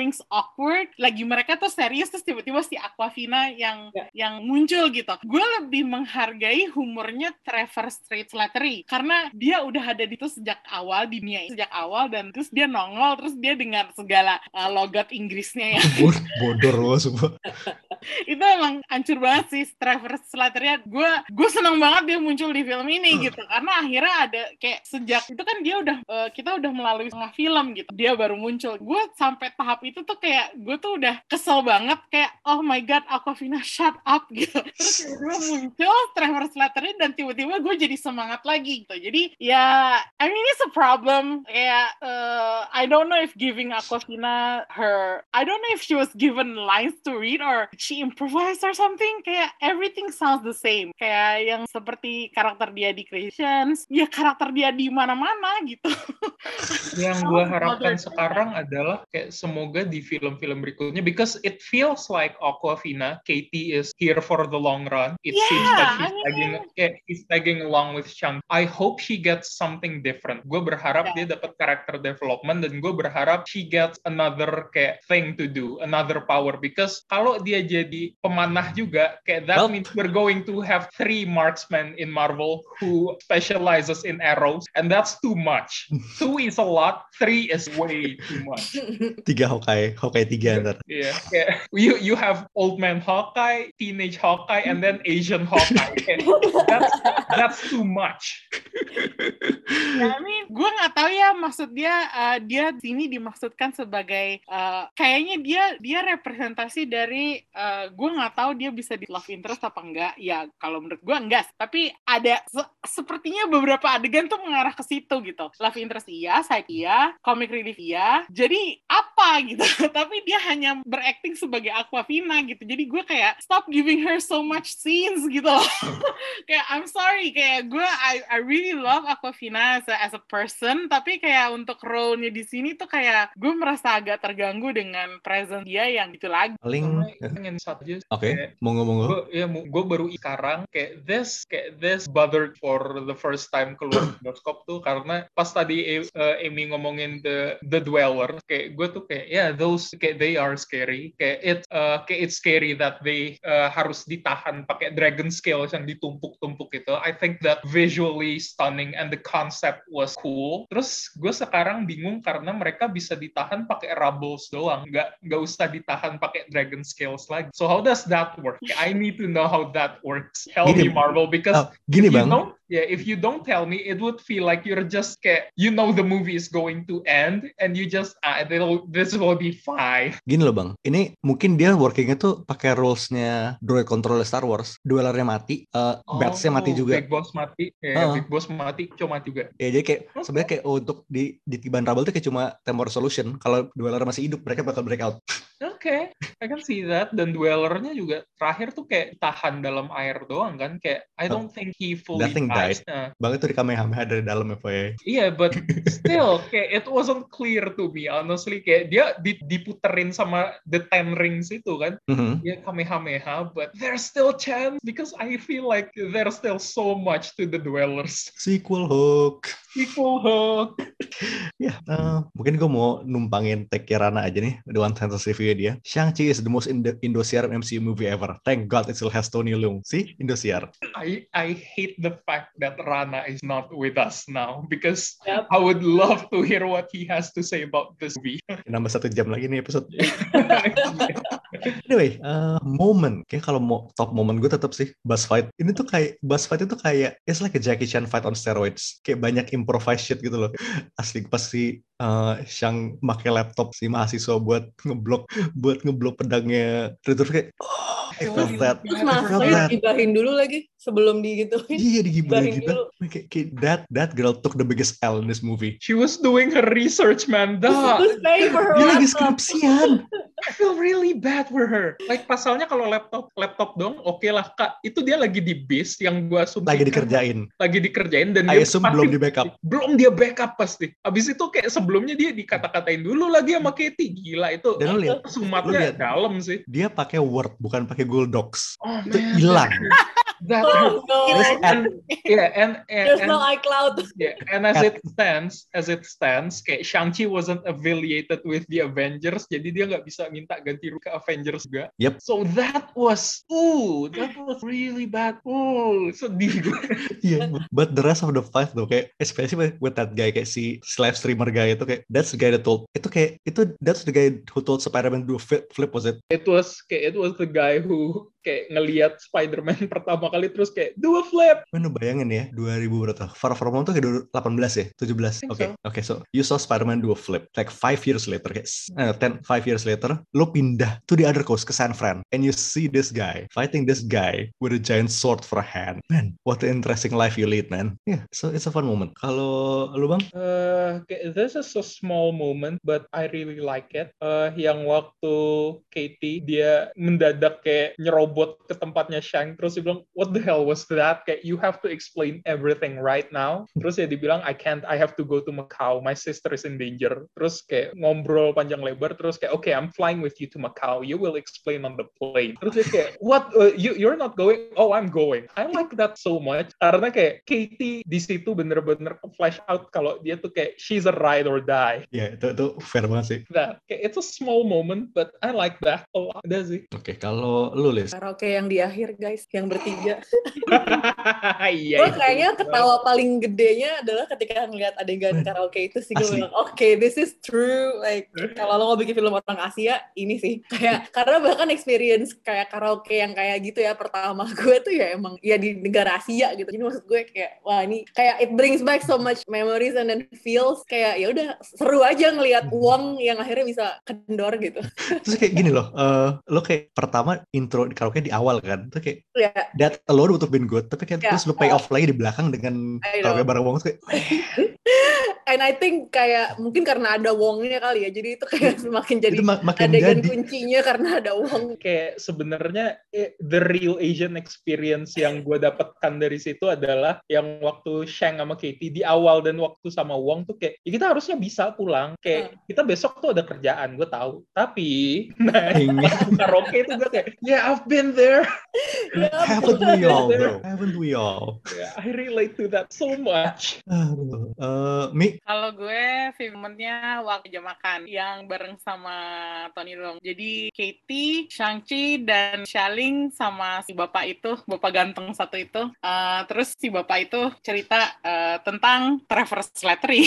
Rings awkward, lagi mereka tuh serius terus tiba-tiba si Awkwafina yang yeah. yang muncul gitu. Gue lebih menghargai humornya Trevor Slattery karena dia udah ada di itu sejak awal, di dunia sejak awal, dan terus dia nongol terus dia dengan segala uh, logat Inggrisnya ya. Bodor loh semua. Itu emang hancur banget sih Trevor Slattery. Gue gue seneng banget dia muncul di film ini gitu karena akhirnya ada kayak sejak itu kan dia udah uh, kita udah melalui setengah film gitu dia baru muncul. Gue sampai tahap itu tuh kayak gue tuh udah kesel banget kayak oh my god Awkwafina shut up gitu. Terus tiba-tiba muncul Trevor Slattery dan tiba-tiba gue jadi semangat lagi gitu. Jadi ya I mean it's a problem kayak uh, I don't know if giving Awkwafina her I don't know if she was given lines to read or she improvised or something. Kayak everything sounds the same kayak yang seperti karakter dia di Creations ya karakter dia di mana-mana gitu. Yang gue harapkan sekarang adalah kayak semoga di film-film berikutnya because it feels like Awkwafina Katie is here for the long run. It yeah, seems that she's I mean, tagging kayak she's tagging along with Shang. I hope she gets something different. Gue berharap yeah. dia dapat character development dan gue berharap she gets another kayak thing to do, another power because kalau dia jadi pemanah juga kayak that well, means we're going to have three marksmen in Marvel who specializes in arrows and that's too much. Two is a lot, three is way too much. Tiga Hawkeye, Hawkeye tiga ntar. Yeah, yeah. You you have old man Hawkeye, teenage Hawkeye, and then Asian Hawkeye. that's that's too much. I mean, gue nggak tahu ya maksud dia uh, dia sini dimaksudkan sebagai uh, kayaknya dia dia representasi dari uh, gue nggak tahu dia bisa di love interest apa enggak ya kalau menurut gue enggak tapi ada se- sepertinya beberapa adegan tuh mengarah ke situ gitu love interest iya saya iya comic relief iya jadi apa gitu tapi dia hanya berakting sebagai Awkwafina gitu jadi gue kayak stop giving her so much scenes gitu loh. Kayak I'm sorry kayak gue I I really love Awkwafina as a, as a person tapi kayak untuk role-nya di sini tuh kayak gue merasa agak terganggu dengan presence dia yang gitu lagi. Paling ingin satu aja. Oke, monggo-monggo. Gue ya gue baru sekarang kayak this kayak this bothered for the first time keluar bioskop tuh karena pas tadi uh, Amy ngomongin the the Dweller kayak gue tuh kayak yeah those kayak they are scary kayak it uh, kayak it's scary that they uh, harus ditahan pakai dragon scales yang ditumpuk-tumpuk itu. I think that visually stunning and the concept was cool. Terus gue sekarang bingung karena mereka bisa ditahan pakai rubbles doang, nggak nggak usah ditahan pakai dragon scales lagi. So how does that work? I need to know how that works. Help gini, me Marvel because oh, gini if you bang. don't, yeah, if you don't tell me, it would feel like you're just kayak you know the movie is going to end and you just ah this will be fine. Gini loh bang, ini mungkin dia workingnya tuh pakai rules-nya droid control Star Wars, duelernya mati, uh, oh, Bats-nya mati juga. Big Boss mati, ya, uh. Big Boss mati, cuma mati juga. Ya jadi kayak okay. sebenarnya kayak untuk di di Tiban Rubble tuh kayak cuma temporary solution. Kalau dueler masih hidup, mereka bakal break out. Oke, okay. I can see that. Dan duelernya juga terakhir tuh kayak tahan dalam air doang kan, kayak I don't oh. think he fully That thing died. Nah. Bang itu di Kamehameha dari dalam ya, Pak. Iya, yeah, but still kayak it wasn't clear to me honestly kayak dia diputerin sama the Ten Rings itu kan. Mm-hmm. Ya Kamehameha, but there's still chance because I feel like there's still so much to the Dwellers. Sequel hook. Sequel hook. Ya, yeah, uh, mungkin gue mau numpangin take Rana aja nih, the one sentence review dia. Shang-Chi is the most Indo- Indosiar M C U movie ever. Thank God it still has Tony Leung. See, Indosiar. I I hate the fact that Rana is not with us now because yep. I would love to hear what he has to say about this movie. Nambah satu jam lagi nih episode. Anyway, uh, moment. Kayak kalau mau top moment gue tetap sih boss fight. Ini tuh kayak boss fight itu kayak it's like a Jackie Chan fight on steroids. Kayak banyak improvised shit gitu loh. Asli pas si uh, Shang pakai laptop si mahasiswa buat ngeblok buat ngeblok pedangnya. Terus kayak oh, I felt that. Terus mahasiswanya digibahin dulu lagi sebelum digituin. Iya digibahin gitu. Kayak, kayak that that girl took the biggest L in this movie. She was doing her research, man. Dah. Dia lagi skripsian. I feel really bad for her. Like pasalnya kalau laptop laptop dong, oke okay lah kak. Itu dia lagi di bis yang gua asumsikan. Lagi dikerjain. Lagi dikerjain dan I dia assume belum di backup. Belum dia backup pasti. Abis itu kayak sebelumnya dia dikata-katain dulu lagi sama Katie. Gila itu. Dan lu lihat, sumatnya dalam sih. Dia pakai Word bukan pakai Google Docs. Oh, itu hilang. that Oh no. and yeah, and and, There's and no iCloud. yeah, and as it stands, as it stands, kayak Shang-Chi wasn't affiliated with the Avengers, jadi dia nggak bisa minta ganti rugi ke Avengers juga. Yep. So that was, ooh, that was really bad. Ooh, sedih gue. Yeah, but the rest of the five though, kayak especially with that guy, kayak si live streamer guy itu, kayak that's the guy that told, itu kayak itu that's the guy who told Spider-Man do a flip, flip was it? It was kayak it was the guy who kayak ngelihat Spider-Man pertama kali terus kayak do a flip. Mana bayangin ya, dua ribu berapa? Far From Home tuh kayak dua ribu delapan belas ya, tujuh belas. Oke, okay. Oke, okay, so you saw Spider-Man do a flip like five years later, kayak uh, ten, five years later, lo pindah to the other coast ke San Fran, and you see this guy fighting this guy with a giant sword for a hand. Man, what an interesting life you lead, man. Yeah, so it's a fun moment. Kalau lu bang? Uh, this is a small moment, but I really like it. Uh, yang waktu Katie dia mendadak kayak nyerobot ke tempatnya Shang, terus dia bilang, what the hell was that? Kayak you have to explain everything right now. Terus ya dibilang, I can't, I have to go to Macau. My sister is in danger. Terus kayak ngobrol panjang lebar. Terus kayak, okay, I'm flying with you to Macau. You will explain on the plane. Terus dia kayak, what? Uh, you you're not going? Oh, I'm going. I like that so much karena kayak Katie di situ bener-bener flash out kalau dia tuh kayak she's a ride or die. Ya, yeah, itu itu fair banget sih. That kayak it's a small moment, but I like that a lot. Udah sih. Oke, okay, kalau lu Liz? Karaoke yang di akhir guys, yang bertiga. Iya. Gue kayaknya ketawa paling gedenya adalah ketika ngeliat adegan karaoke itu sih, gue bilang, oke, okay, this is true. Like kalau lo mau bikin film orang Asia, ini sih kayak karena bahkan experience kayak karaoke yang kayak gitu ya pertama gue tuh ya emang ya di negara Asia gitu. Jadi maksud gue kayak wah ini kayak it brings back so much memories and then feels kayak ya udah seru aja ngelihat Wong yang akhirnya bisa kendor gitu. Terus kayak gini loh, uh, lo kayak pertama intro di karaoke di awal kan, terus kayak yeah. that alone would have been good, tapi kayak yeah. terus lo pay off uh, lagi di belakang dengan karaoke bareng Wong kayak and I think kayak mungkin karena ada Wongnya kali ya, jadi itu kayak semakin jadi mak- adegan jadi. kuncinya karena ada Wong. Kayak sebenarnya eh, the real Asian experience yang gue dapatkan dari situ adalah yang waktu Shang sama Katie di awal dan waktu sama Wong tuh kayak ya kita harusnya bisa pulang, kayak hmm. kita besok tuh ada kerjaan, gue tahu, tapi nah karaoke itu gue kayak yeah I've been there. Haven't we all bro? Haven't we all? Yeah, I relate to that so much. Uh, Mi? Kalau gue filmnya waktu jam makan yang bareng sama Tony Leung. Jadi Katie, Shang-Chi dan Xialing sama si bapak itu, bapak ganteng satu itu. Uh, terus si bapak itu cerita uh, tentang Trevor Slattery.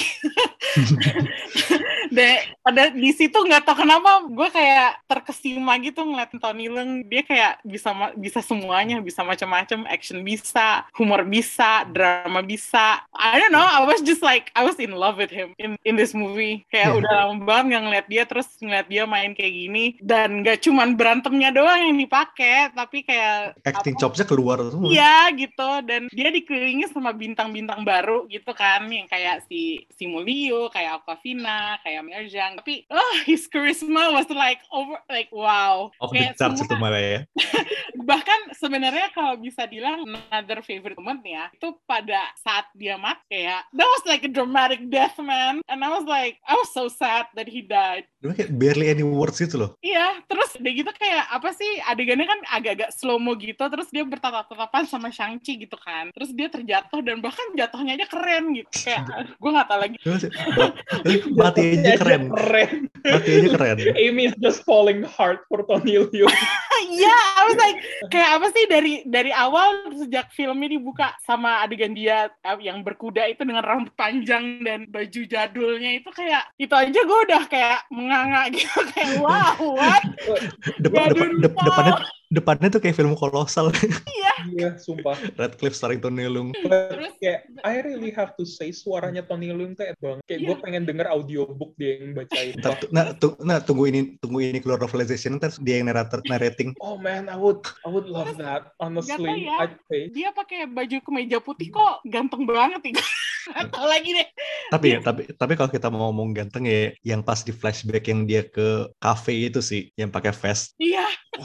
Dan pada di situ nggak tahu kenapa gue kayak terkesima gitu ngeliatin Tony Leung. Dia kayak bisa bisa semuanya, bisa macam-macam, action bisa, humor bisa, drama bisa. I don't know, I was just like I was in love with him in in this movie. Kayak yeah. udah lama banget nggak ngeliat dia, terus ngeliat dia main kayak gini, dan nggak cuman berantemnya doang yang dipakai, tapi kayak acting chopsnya keluar semua. Iya gitu, dan dia dikelilingi sama bintang-bintang baru gitu kan, yang kayak si Simu Liu, kayak Awkwafina, kayak Mia Zhang. Tapi oh, his charisma was like over, like wow. Off the charts itu malah ya. Bahkan sebenarnya kalau bisa bilang another favorite moment ya, itu pada saat dia mati, kayak that was like a dramatic death, man. And I was like, I was so sad that he died. Dia kayak barely any words gitu loh. Iya, terus udah gitu kayak apa sih, adegannya kan agak-agak slow-mo gitu, terus dia bertatap-tatapan sama Shang-Chi gitu kan. Terus dia terjatuh, dan bahkan jatuhnya aja keren gitu. Kayak, gue gak tau lagi. Mati aja keren. keren. Mati aja keren. Amy is just falling hard for Tony Leung. Iya, yeah, I was like, kayak apa sih dari dari awal sejak filmnya dibuka sama adegan dia yang berkuda itu dengan rambut panjang dan baju jadulnya itu, kayak itu aja gue udah kayak menganga gitu, kayak wow, what? Depan, depan, de, depannya depannya tuh kayak film kolosal. Iya. Iya, sumpah. Radcliffe starring Tony Leung. Terus kayak I really have to say suaranya Tony Leung kayak banget. Kayak yeah. gue pengen denger audiobook dia yang bacain. Nah, tu, nah tunggu ini tunggu ini keluar novelization, ntar dia yang narrator narrating. Oh man, I would I would love that. Honestly, ya, I'd pay. Dia pakai baju kemeja putih kok ganteng banget nih. Atau lagi deh. Tapi ya, tapi tapi kalau kita mau ngomong ganteng ya, yang pas di flashback yang dia ke cafe itu sih, yang pakai vest. Iya.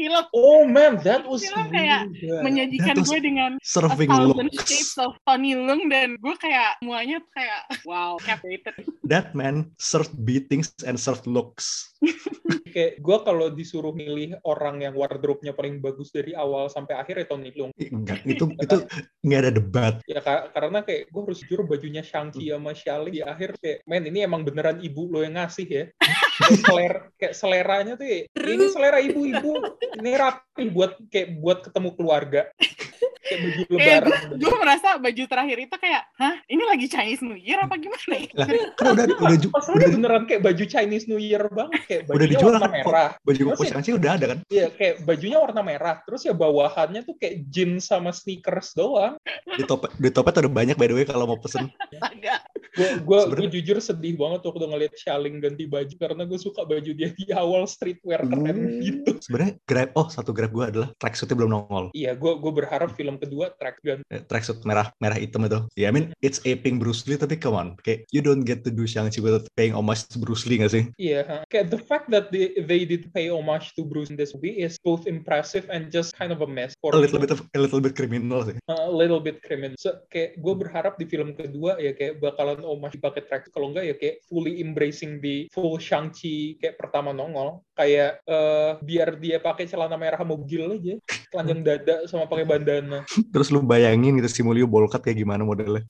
film. Oh man, that was film kayak really good. menyajikan gue dengan serving a thousand looks. shades of Tony Leung, dan gue kayak semuanya tuh kayak wow, captivated. That man served beatings and served looks. Kayak gue kalau disuruh milih orang yang wardrobe-nya paling bagus dari awal sampai akhir ya Tony Leung. Enggak, itu itu nggak ada debat. Ya ka- karena kayak gue harus jujur bajunya Shang-Chi sama Xialing di akhir kayak, men ini emang beneran ibu lo yang ngasih ya. Kayak, selera, kayak seleranya tuh ya, ini selera ibu-ibu, ini rapi buat kayak buat ketemu keluarga. Kayak baju lebaran. Eh, gue merasa baju terakhir itu kayak, hah, ini lagi Chinese New Year apa gimana ya? Lah, kan udah udah ju- Masalahnya udah, beneran kayak baju Chinese New Year banget, kayak udah bajunya dijual warna kan. merah. Baju Terus koko ya- Shang-Chi udah ada kan. Iya, kayak bajunya warna merah. Terus ya bawahannya tuh kayak jeans sama sneakers doang. Di topet di topet ada banyak by the way kalau mau pesen. Agak. Gue gue Sebenarnya- jujur sedih banget waktu ngeliat Xialing ganti baju karena gue suka baju dia di awal streetwear keren gitu. Sebenarnya grab oh satu grab gue adalah tracksuitnya belum nongol. Iya, gue gue berharap film kedua track gun. Eh, tracksuit merah merah hitam itu. Ya, yeah, I mean it's aping Bruce Lee tapi come on, kayak you don't get to do Shang-Chi without paying homage to Bruce Lee nggak sih? Iya, huh? Kayak the fact that they they did pay homage to Bruce in this movie is both impressive and just kind of a mess. For A little bit of a little bit criminal sih. a little bit criminal. So, kayak gue berharap di film kedua ya kayak bakalan homage pakai track. Kalau enggak ya kayak fully embracing the full Shang-Chi kayak pertama nongol. Kayak uh, biar dia pakai celana merah mogil aja, telanjang dada sama pakai bandana. Terus lu bayangin gitu Simulio bolkat kayak gimana modelnya.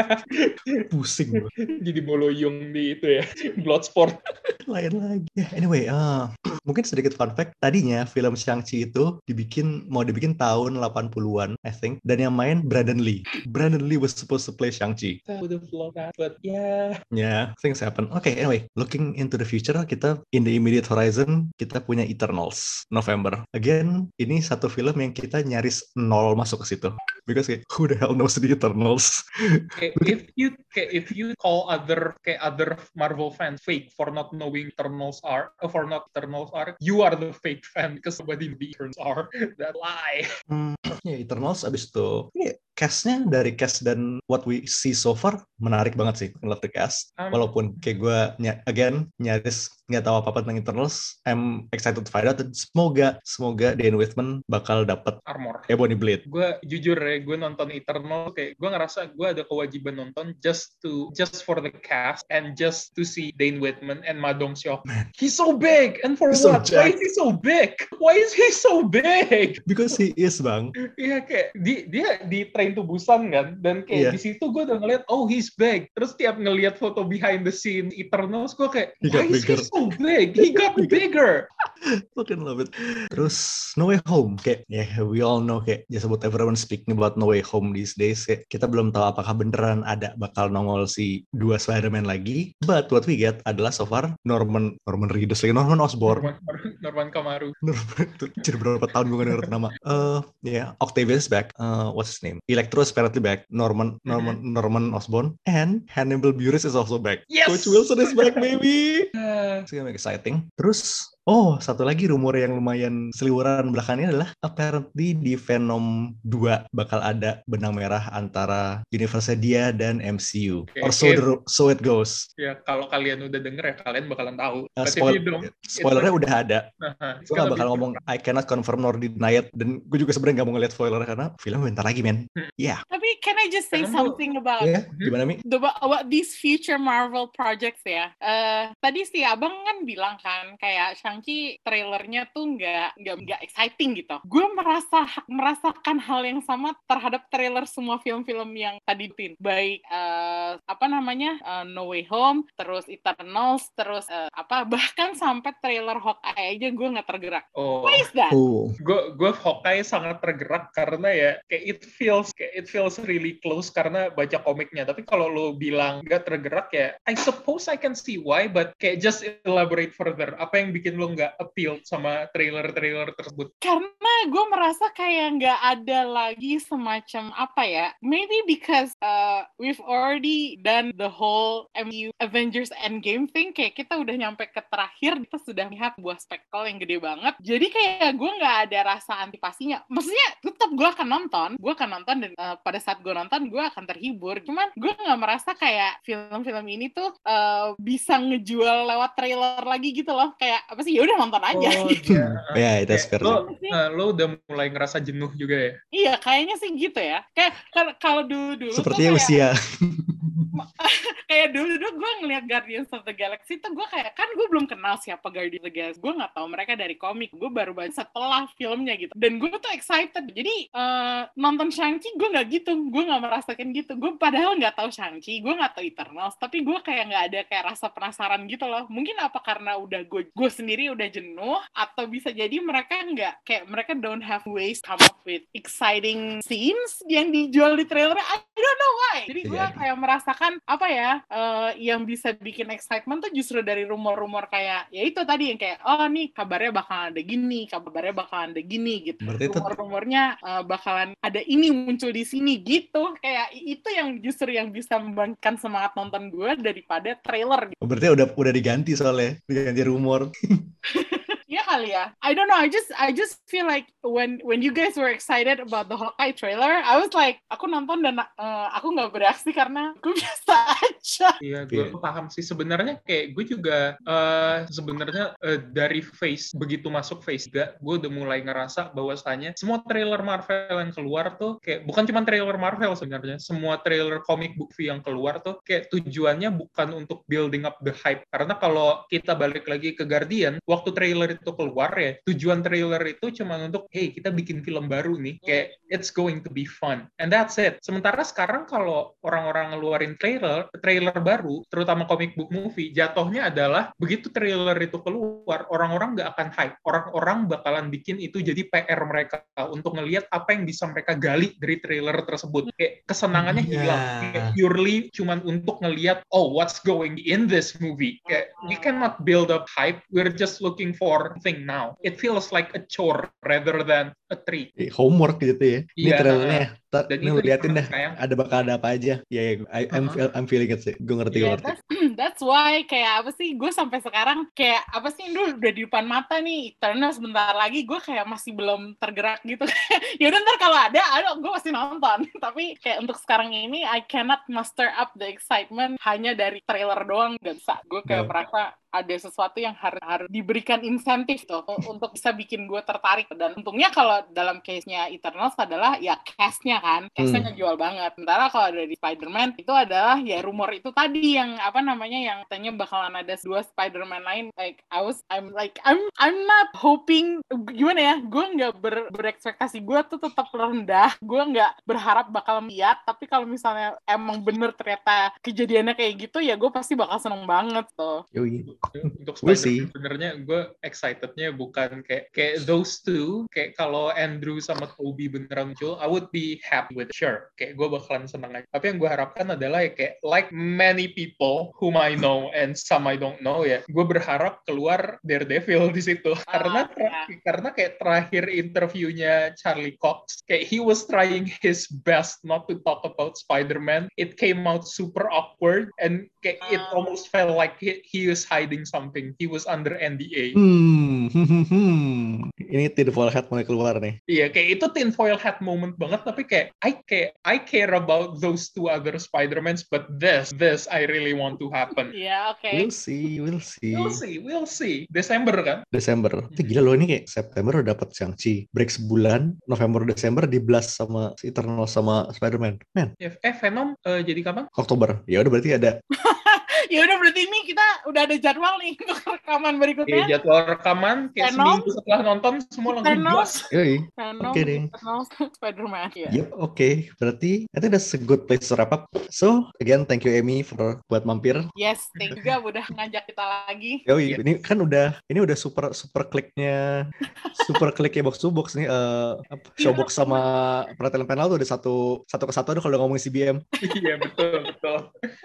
Pusing gua. Jadi boloyong di itu ya, Bloodsport. Lain lagi. Ya, anyway, uh, mungkin sedikit fun fact. Tadinya film Shang-Chi itu dibikin mau dibikin tahun delapan puluhan, I think. Dan yang main Brandon Lee. Brandon Lee was supposed to play Shang-Chi. I would have loved that, but yeah. Yeah, things happen. Okay, anyway, looking into the future, kita in the immediate horizon, kita punya Eternals, November. Again, ini satu film yang kita nyaris nol masuk ke situ. Because kayak, who the hell knows the Eternals? Kayak, if you kayak, if you call other kayak other Marvel fans fake for not knowing Eternals are, uh, for not Eternals are, you are the fake fan because somebody the Eternals are. That lie. Hmm, ya Eternals abis itu, ini cast-nya dari cast dan what we see so far menarik banget sih. I love the cast. Um, Walaupun kayak gue ny- again nyaris nggak tahu apa-apa tentang Eternals, I'm excited to find out. Dan semoga semoga Dane Whitman bakal dapat armor. Ebony Blade. Gue jujur ya, gue nonton Eternal kayak gue ngerasa gue ada kewajiban nonton just to just for the cast and just to see Dane Whitman and Ma Dong-seok. He's so big, and for He's so what? Why jacked. is he so big? Why is he so big? Because he is, bang. Iya kayak di, dia di Train to Busan kan, dan kayak Yeah. di situ gue udah ngeliat oh he's big. Terus tiap ngeliat foto behind the scene Eternals gue kayak He why got is bigger. he so big? He got bigger. Fucking love it. Terus No Way Home, kayak ya yeah, we all know kayak just about everyone speaking about No Way Home these days. Kayak, kita belum tahu apakah beneran ada bakal nongol si dua Spider-Man lagi. But what we get adalah so far Norman Norman Reedus lagi Norman Osborn. Norman, Norman Kamaru. Norman itu jadi berapa tahun gue gak denger nama. Uh, ya yeah, Octavius back. Uh, what's his name? Electro is apparently back. Norman Norman mm-hmm. Norman Osborn and Hannibal Buress is also back. Yes! Coach Wilson is back, baby. Uh, It's gonna be exciting. Terus oh, satu lagi rumor yang lumayan seliweran belakangnya adalah apparently di Venom dua bakal ada benang merah antara universe dia dan M C U. Okay, Or so, okay. the, so it goes. Ya kalau kalian udah denger ya kalian bakalan tahu. Uh, But spoil, if you don't, spoilernya it's udah ada. Uh-huh. Gue gak bakal ngomong I cannot confirm nor deny it. Dan gue juga sebenarnya gak mau ngeliat spoilernya karena film bentar lagi, men. Iya. Yeah. Tapi can I just say Venom something about Yeah, gimana, Mi? the, about these future Marvel projects ya? Uh, tadi si Abang kan bilang kan kayak Shang-Chi trailernya tuh nggak nggak nggak exciting gitu. Gue merasa merasakan hal yang sama terhadap trailer semua film-film yang tadi tin, baik uh, apa namanya uh, No Way Home, terus Eternals, terus uh, apa bahkan sampai trailer Hawkeye aja gue nggak tergerak. Oh. Why is that? Oh. Gue gue Hawkeye sangat tergerak karena ya kayak it feels kayak it feels really close karena baca komiknya. Tapi kalau lo bilang nggak tergerak ya, I suppose I can see why, but kayak just elaborate further. Apa yang bikin lo nggak appeal sama trailer-trailer tersebut? Karena gue merasa kayak nggak ada lagi semacam apa ya, maybe because uh, we've already done the whole M U Avengers Endgame thing, kayak kita udah nyampe ke terakhir, kita sudah lihat buah spektakel yang gede banget, jadi kayak gue nggak ada rasa antipasinya. Maksudnya tetap gue akan nonton, gue akan nonton dan uh, pada saat gue nonton gue akan terhibur, cuman gue nggak merasa kayak film-film ini tuh uh, bisa ngejual lewat trailer lagi gitu loh, kayak apa sih sih, ya udah nonton aja. Oh, gitu. iya. Ya, itu Kayak fair lo, sih. uh, lo udah mulai ngerasa jenuh juga ya? Iya, kayaknya sih gitu ya. Kayak kan- kalau dulu-dulu tuh Sepertinya kayak usia. kayak dulu-dulu gue ngeliat Guardians of the Galaxy tuh gue kayak, kan gue belum kenal siapa Guardians of the Galaxy, gue nggak tahu mereka dari komik, gue baru baca setelah filmnya gitu, dan gue tuh excited. Jadi uh, nonton Shang-Chi gue nggak gitu, gue nggak merasakan gitu. Gue padahal nggak tahu Shang-Chi, gue nggak tahu Eternals, tapi gue kayak nggak ada kayak rasa penasaran gitu loh. Mungkin apa karena udah gue gue sendiri udah jenuh, atau bisa jadi mereka nggak kayak mereka don't have ways to come up with exciting scenes yang dijual di trailer. I don't know why. Jadi gue Jadi. kayak merasakan apa ya, uh, yang bisa bikin excitement tuh justru dari rumor-rumor kayak ya itu tadi yang kayak oh nih kabarnya bakalan ada gini, kabarnya bakalan ada gini gitu. Berarti itu Rumor-rumornya uh, bakalan ada ini muncul di sini gitu. Kayak itu yang justru yang bisa membangkitkan semangat nonton gue daripada trailer gitu. berarti udah udah diganti soalnya, diganti rumor. Iya kali ya. I don't know. I just I just feel like when when you guys were excited about the Hawkeye trailer, I was like, aku nonton dan uh, aku nggak bereaksi karena gue biasa aja. Iya, gue paham sih. Sebenarnya kayak gue juga uh, sebenarnya uh, dari phase begitu masuk phase tiga, gue udah mulai ngerasa bahwasannya semua trailer Marvel yang keluar tuh kayak bukan cuma trailer Marvel sebenarnya, semua trailer comic book yang keluar tuh kayak tujuannya bukan untuk building up the hype. Karena kalau kita balik lagi ke Guardian, waktu trailer itu keluar ya, tujuan trailer itu cuma untuk hey kita bikin film baru nih, kayak it's going to be fun and that's it. Sementara sekarang kalau orang-orang ngeluarin trailer trailer baru, terutama comic book movie, jatuhnya adalah begitu trailer itu keluar, orang-orang nggak akan hype, orang-orang bakalan bikin itu jadi P R mereka untuk ngelihat apa yang bisa mereka gali dari trailer tersebut. Kayak kesenangannya Yeah. hilang, kayak purely cuman untuk ngelihat oh what's going in this movie. Kayak we cannot build up hype, we're just looking for thing now. It feels like a chore rather than a treat. Homework gitu ya. Ini Iya, trailernya. Tar, dan ini itu lu liatin dah. sayang. Ada bakal ada apa aja. Ya, yeah, yeah, I'm, Uh-huh. I'm feeling it sih. Gue ngerti, gue Yeah, ngerti. that's, that's why kayak apa sih, gue sampai sekarang kayak apa sih, dulu udah di depan mata nih Eternal sebentar lagi, gue kayak masih belum tergerak gitu. Ya udah ntar kalau ada, aduh gue pasti nonton. Tapi kayak untuk sekarang ini I cannot muster up the excitement hanya dari trailer doang, gak bisa. Gue kayak No. merasa ada sesuatu yang harus harus diberikan insentif tuh untuk bisa bikin gue tertarik. Dan untungnya kalau dalam case-nya Eternals adalah ya cast-nya kan, cast-nya Hmm. ngejual banget. Sementara kalau dari Spider-Man itu adalah ya rumor itu tadi yang apa namanya yang katanya bakalan ada dua Spider-Man lain. Like I was I'm like I'm I'm not hoping, gimana ya, gue nggak ber, berekspektasi, gue tuh tetap rendah, gue nggak berharap bakal lihat. Tapi kalau misalnya emang bener ternyata kejadiannya kayak gitu, ya gue pasti bakal seneng banget tuh. Yoi. Untuk We'll see. Spider-Man sebenarnya gue excitednya bukan kayak kayak those two, kayak kalau Andrew sama Tobey beneran muncul, I would be happy with it. Sure, kayak gue bakalan seneng aja. Tapi yang gue harapkan adalah ya kayak like many people whom I know and some I don't know ya, gue berharap keluar Daredevil di situ. Ah, karena ter- ya. karena kayak terakhir interviewnya Charlie Cox, kayak he was trying his best not to talk about Spider-Man. It came out super awkward and kayak it Ah. almost felt like he, he was hiding something. He was under N D A. Hmm. hmm, hmm. Ini tinfoil hat mulai keluar nih. Iya, kayak itu tinfoil hat moment banget, tapi kayak I care I care about those two other Spider-Mans, but this this I really want to happen. Iya, oke. We'll see, we'll see. We'll see, we'll see. Desember kan? Desember. Itu gila loh, ini kayak September udah dapet Shang-Chi. Break sebulan, November, Desember di blast sama Eternal sama Spider-Man. Man, Eh, eh, Venom eh, jadi kapan? Oktober. Ya udah berarti ada. Ya udah berarti ini kita udah ada jadwal nih untuk rekaman berikutnya. Iya, jadwal rekaman kayak Venom. seminggu setelah nonton semua langsung Eternals. jelas. Yoi. Venom, Oke deh. Eternals, Spider-Man. Iya. Yep, oke. Berarti I think that's a good place to wrap up. So, again, thank you Amy for buat mampir. Yes, thank you juga udah ngajak kita lagi. Yoi, Yes. ini kan udah ini udah super super kliknya super kliknya box to box nih. eh apa, Showbox sama Perhatian Panel tuh udah satu satu ke satu tuh kalau ngomongin C B M. Iya, betul, betul.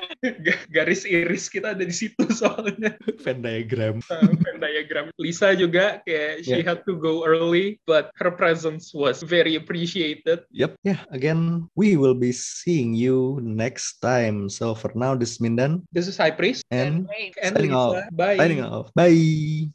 Ga- Garis iris kita ada di situ soalnya. Venn diagram. Uh, Venn diagram. Lisa juga kayak she Yeah. had to go early, but her presence was very appreciated. Yep, yeah. Again, we will be seeing you next time. So for now, this is Mindan This is High Priest and Wait. and signing Lisa. off. Bye. Signing off. Bye.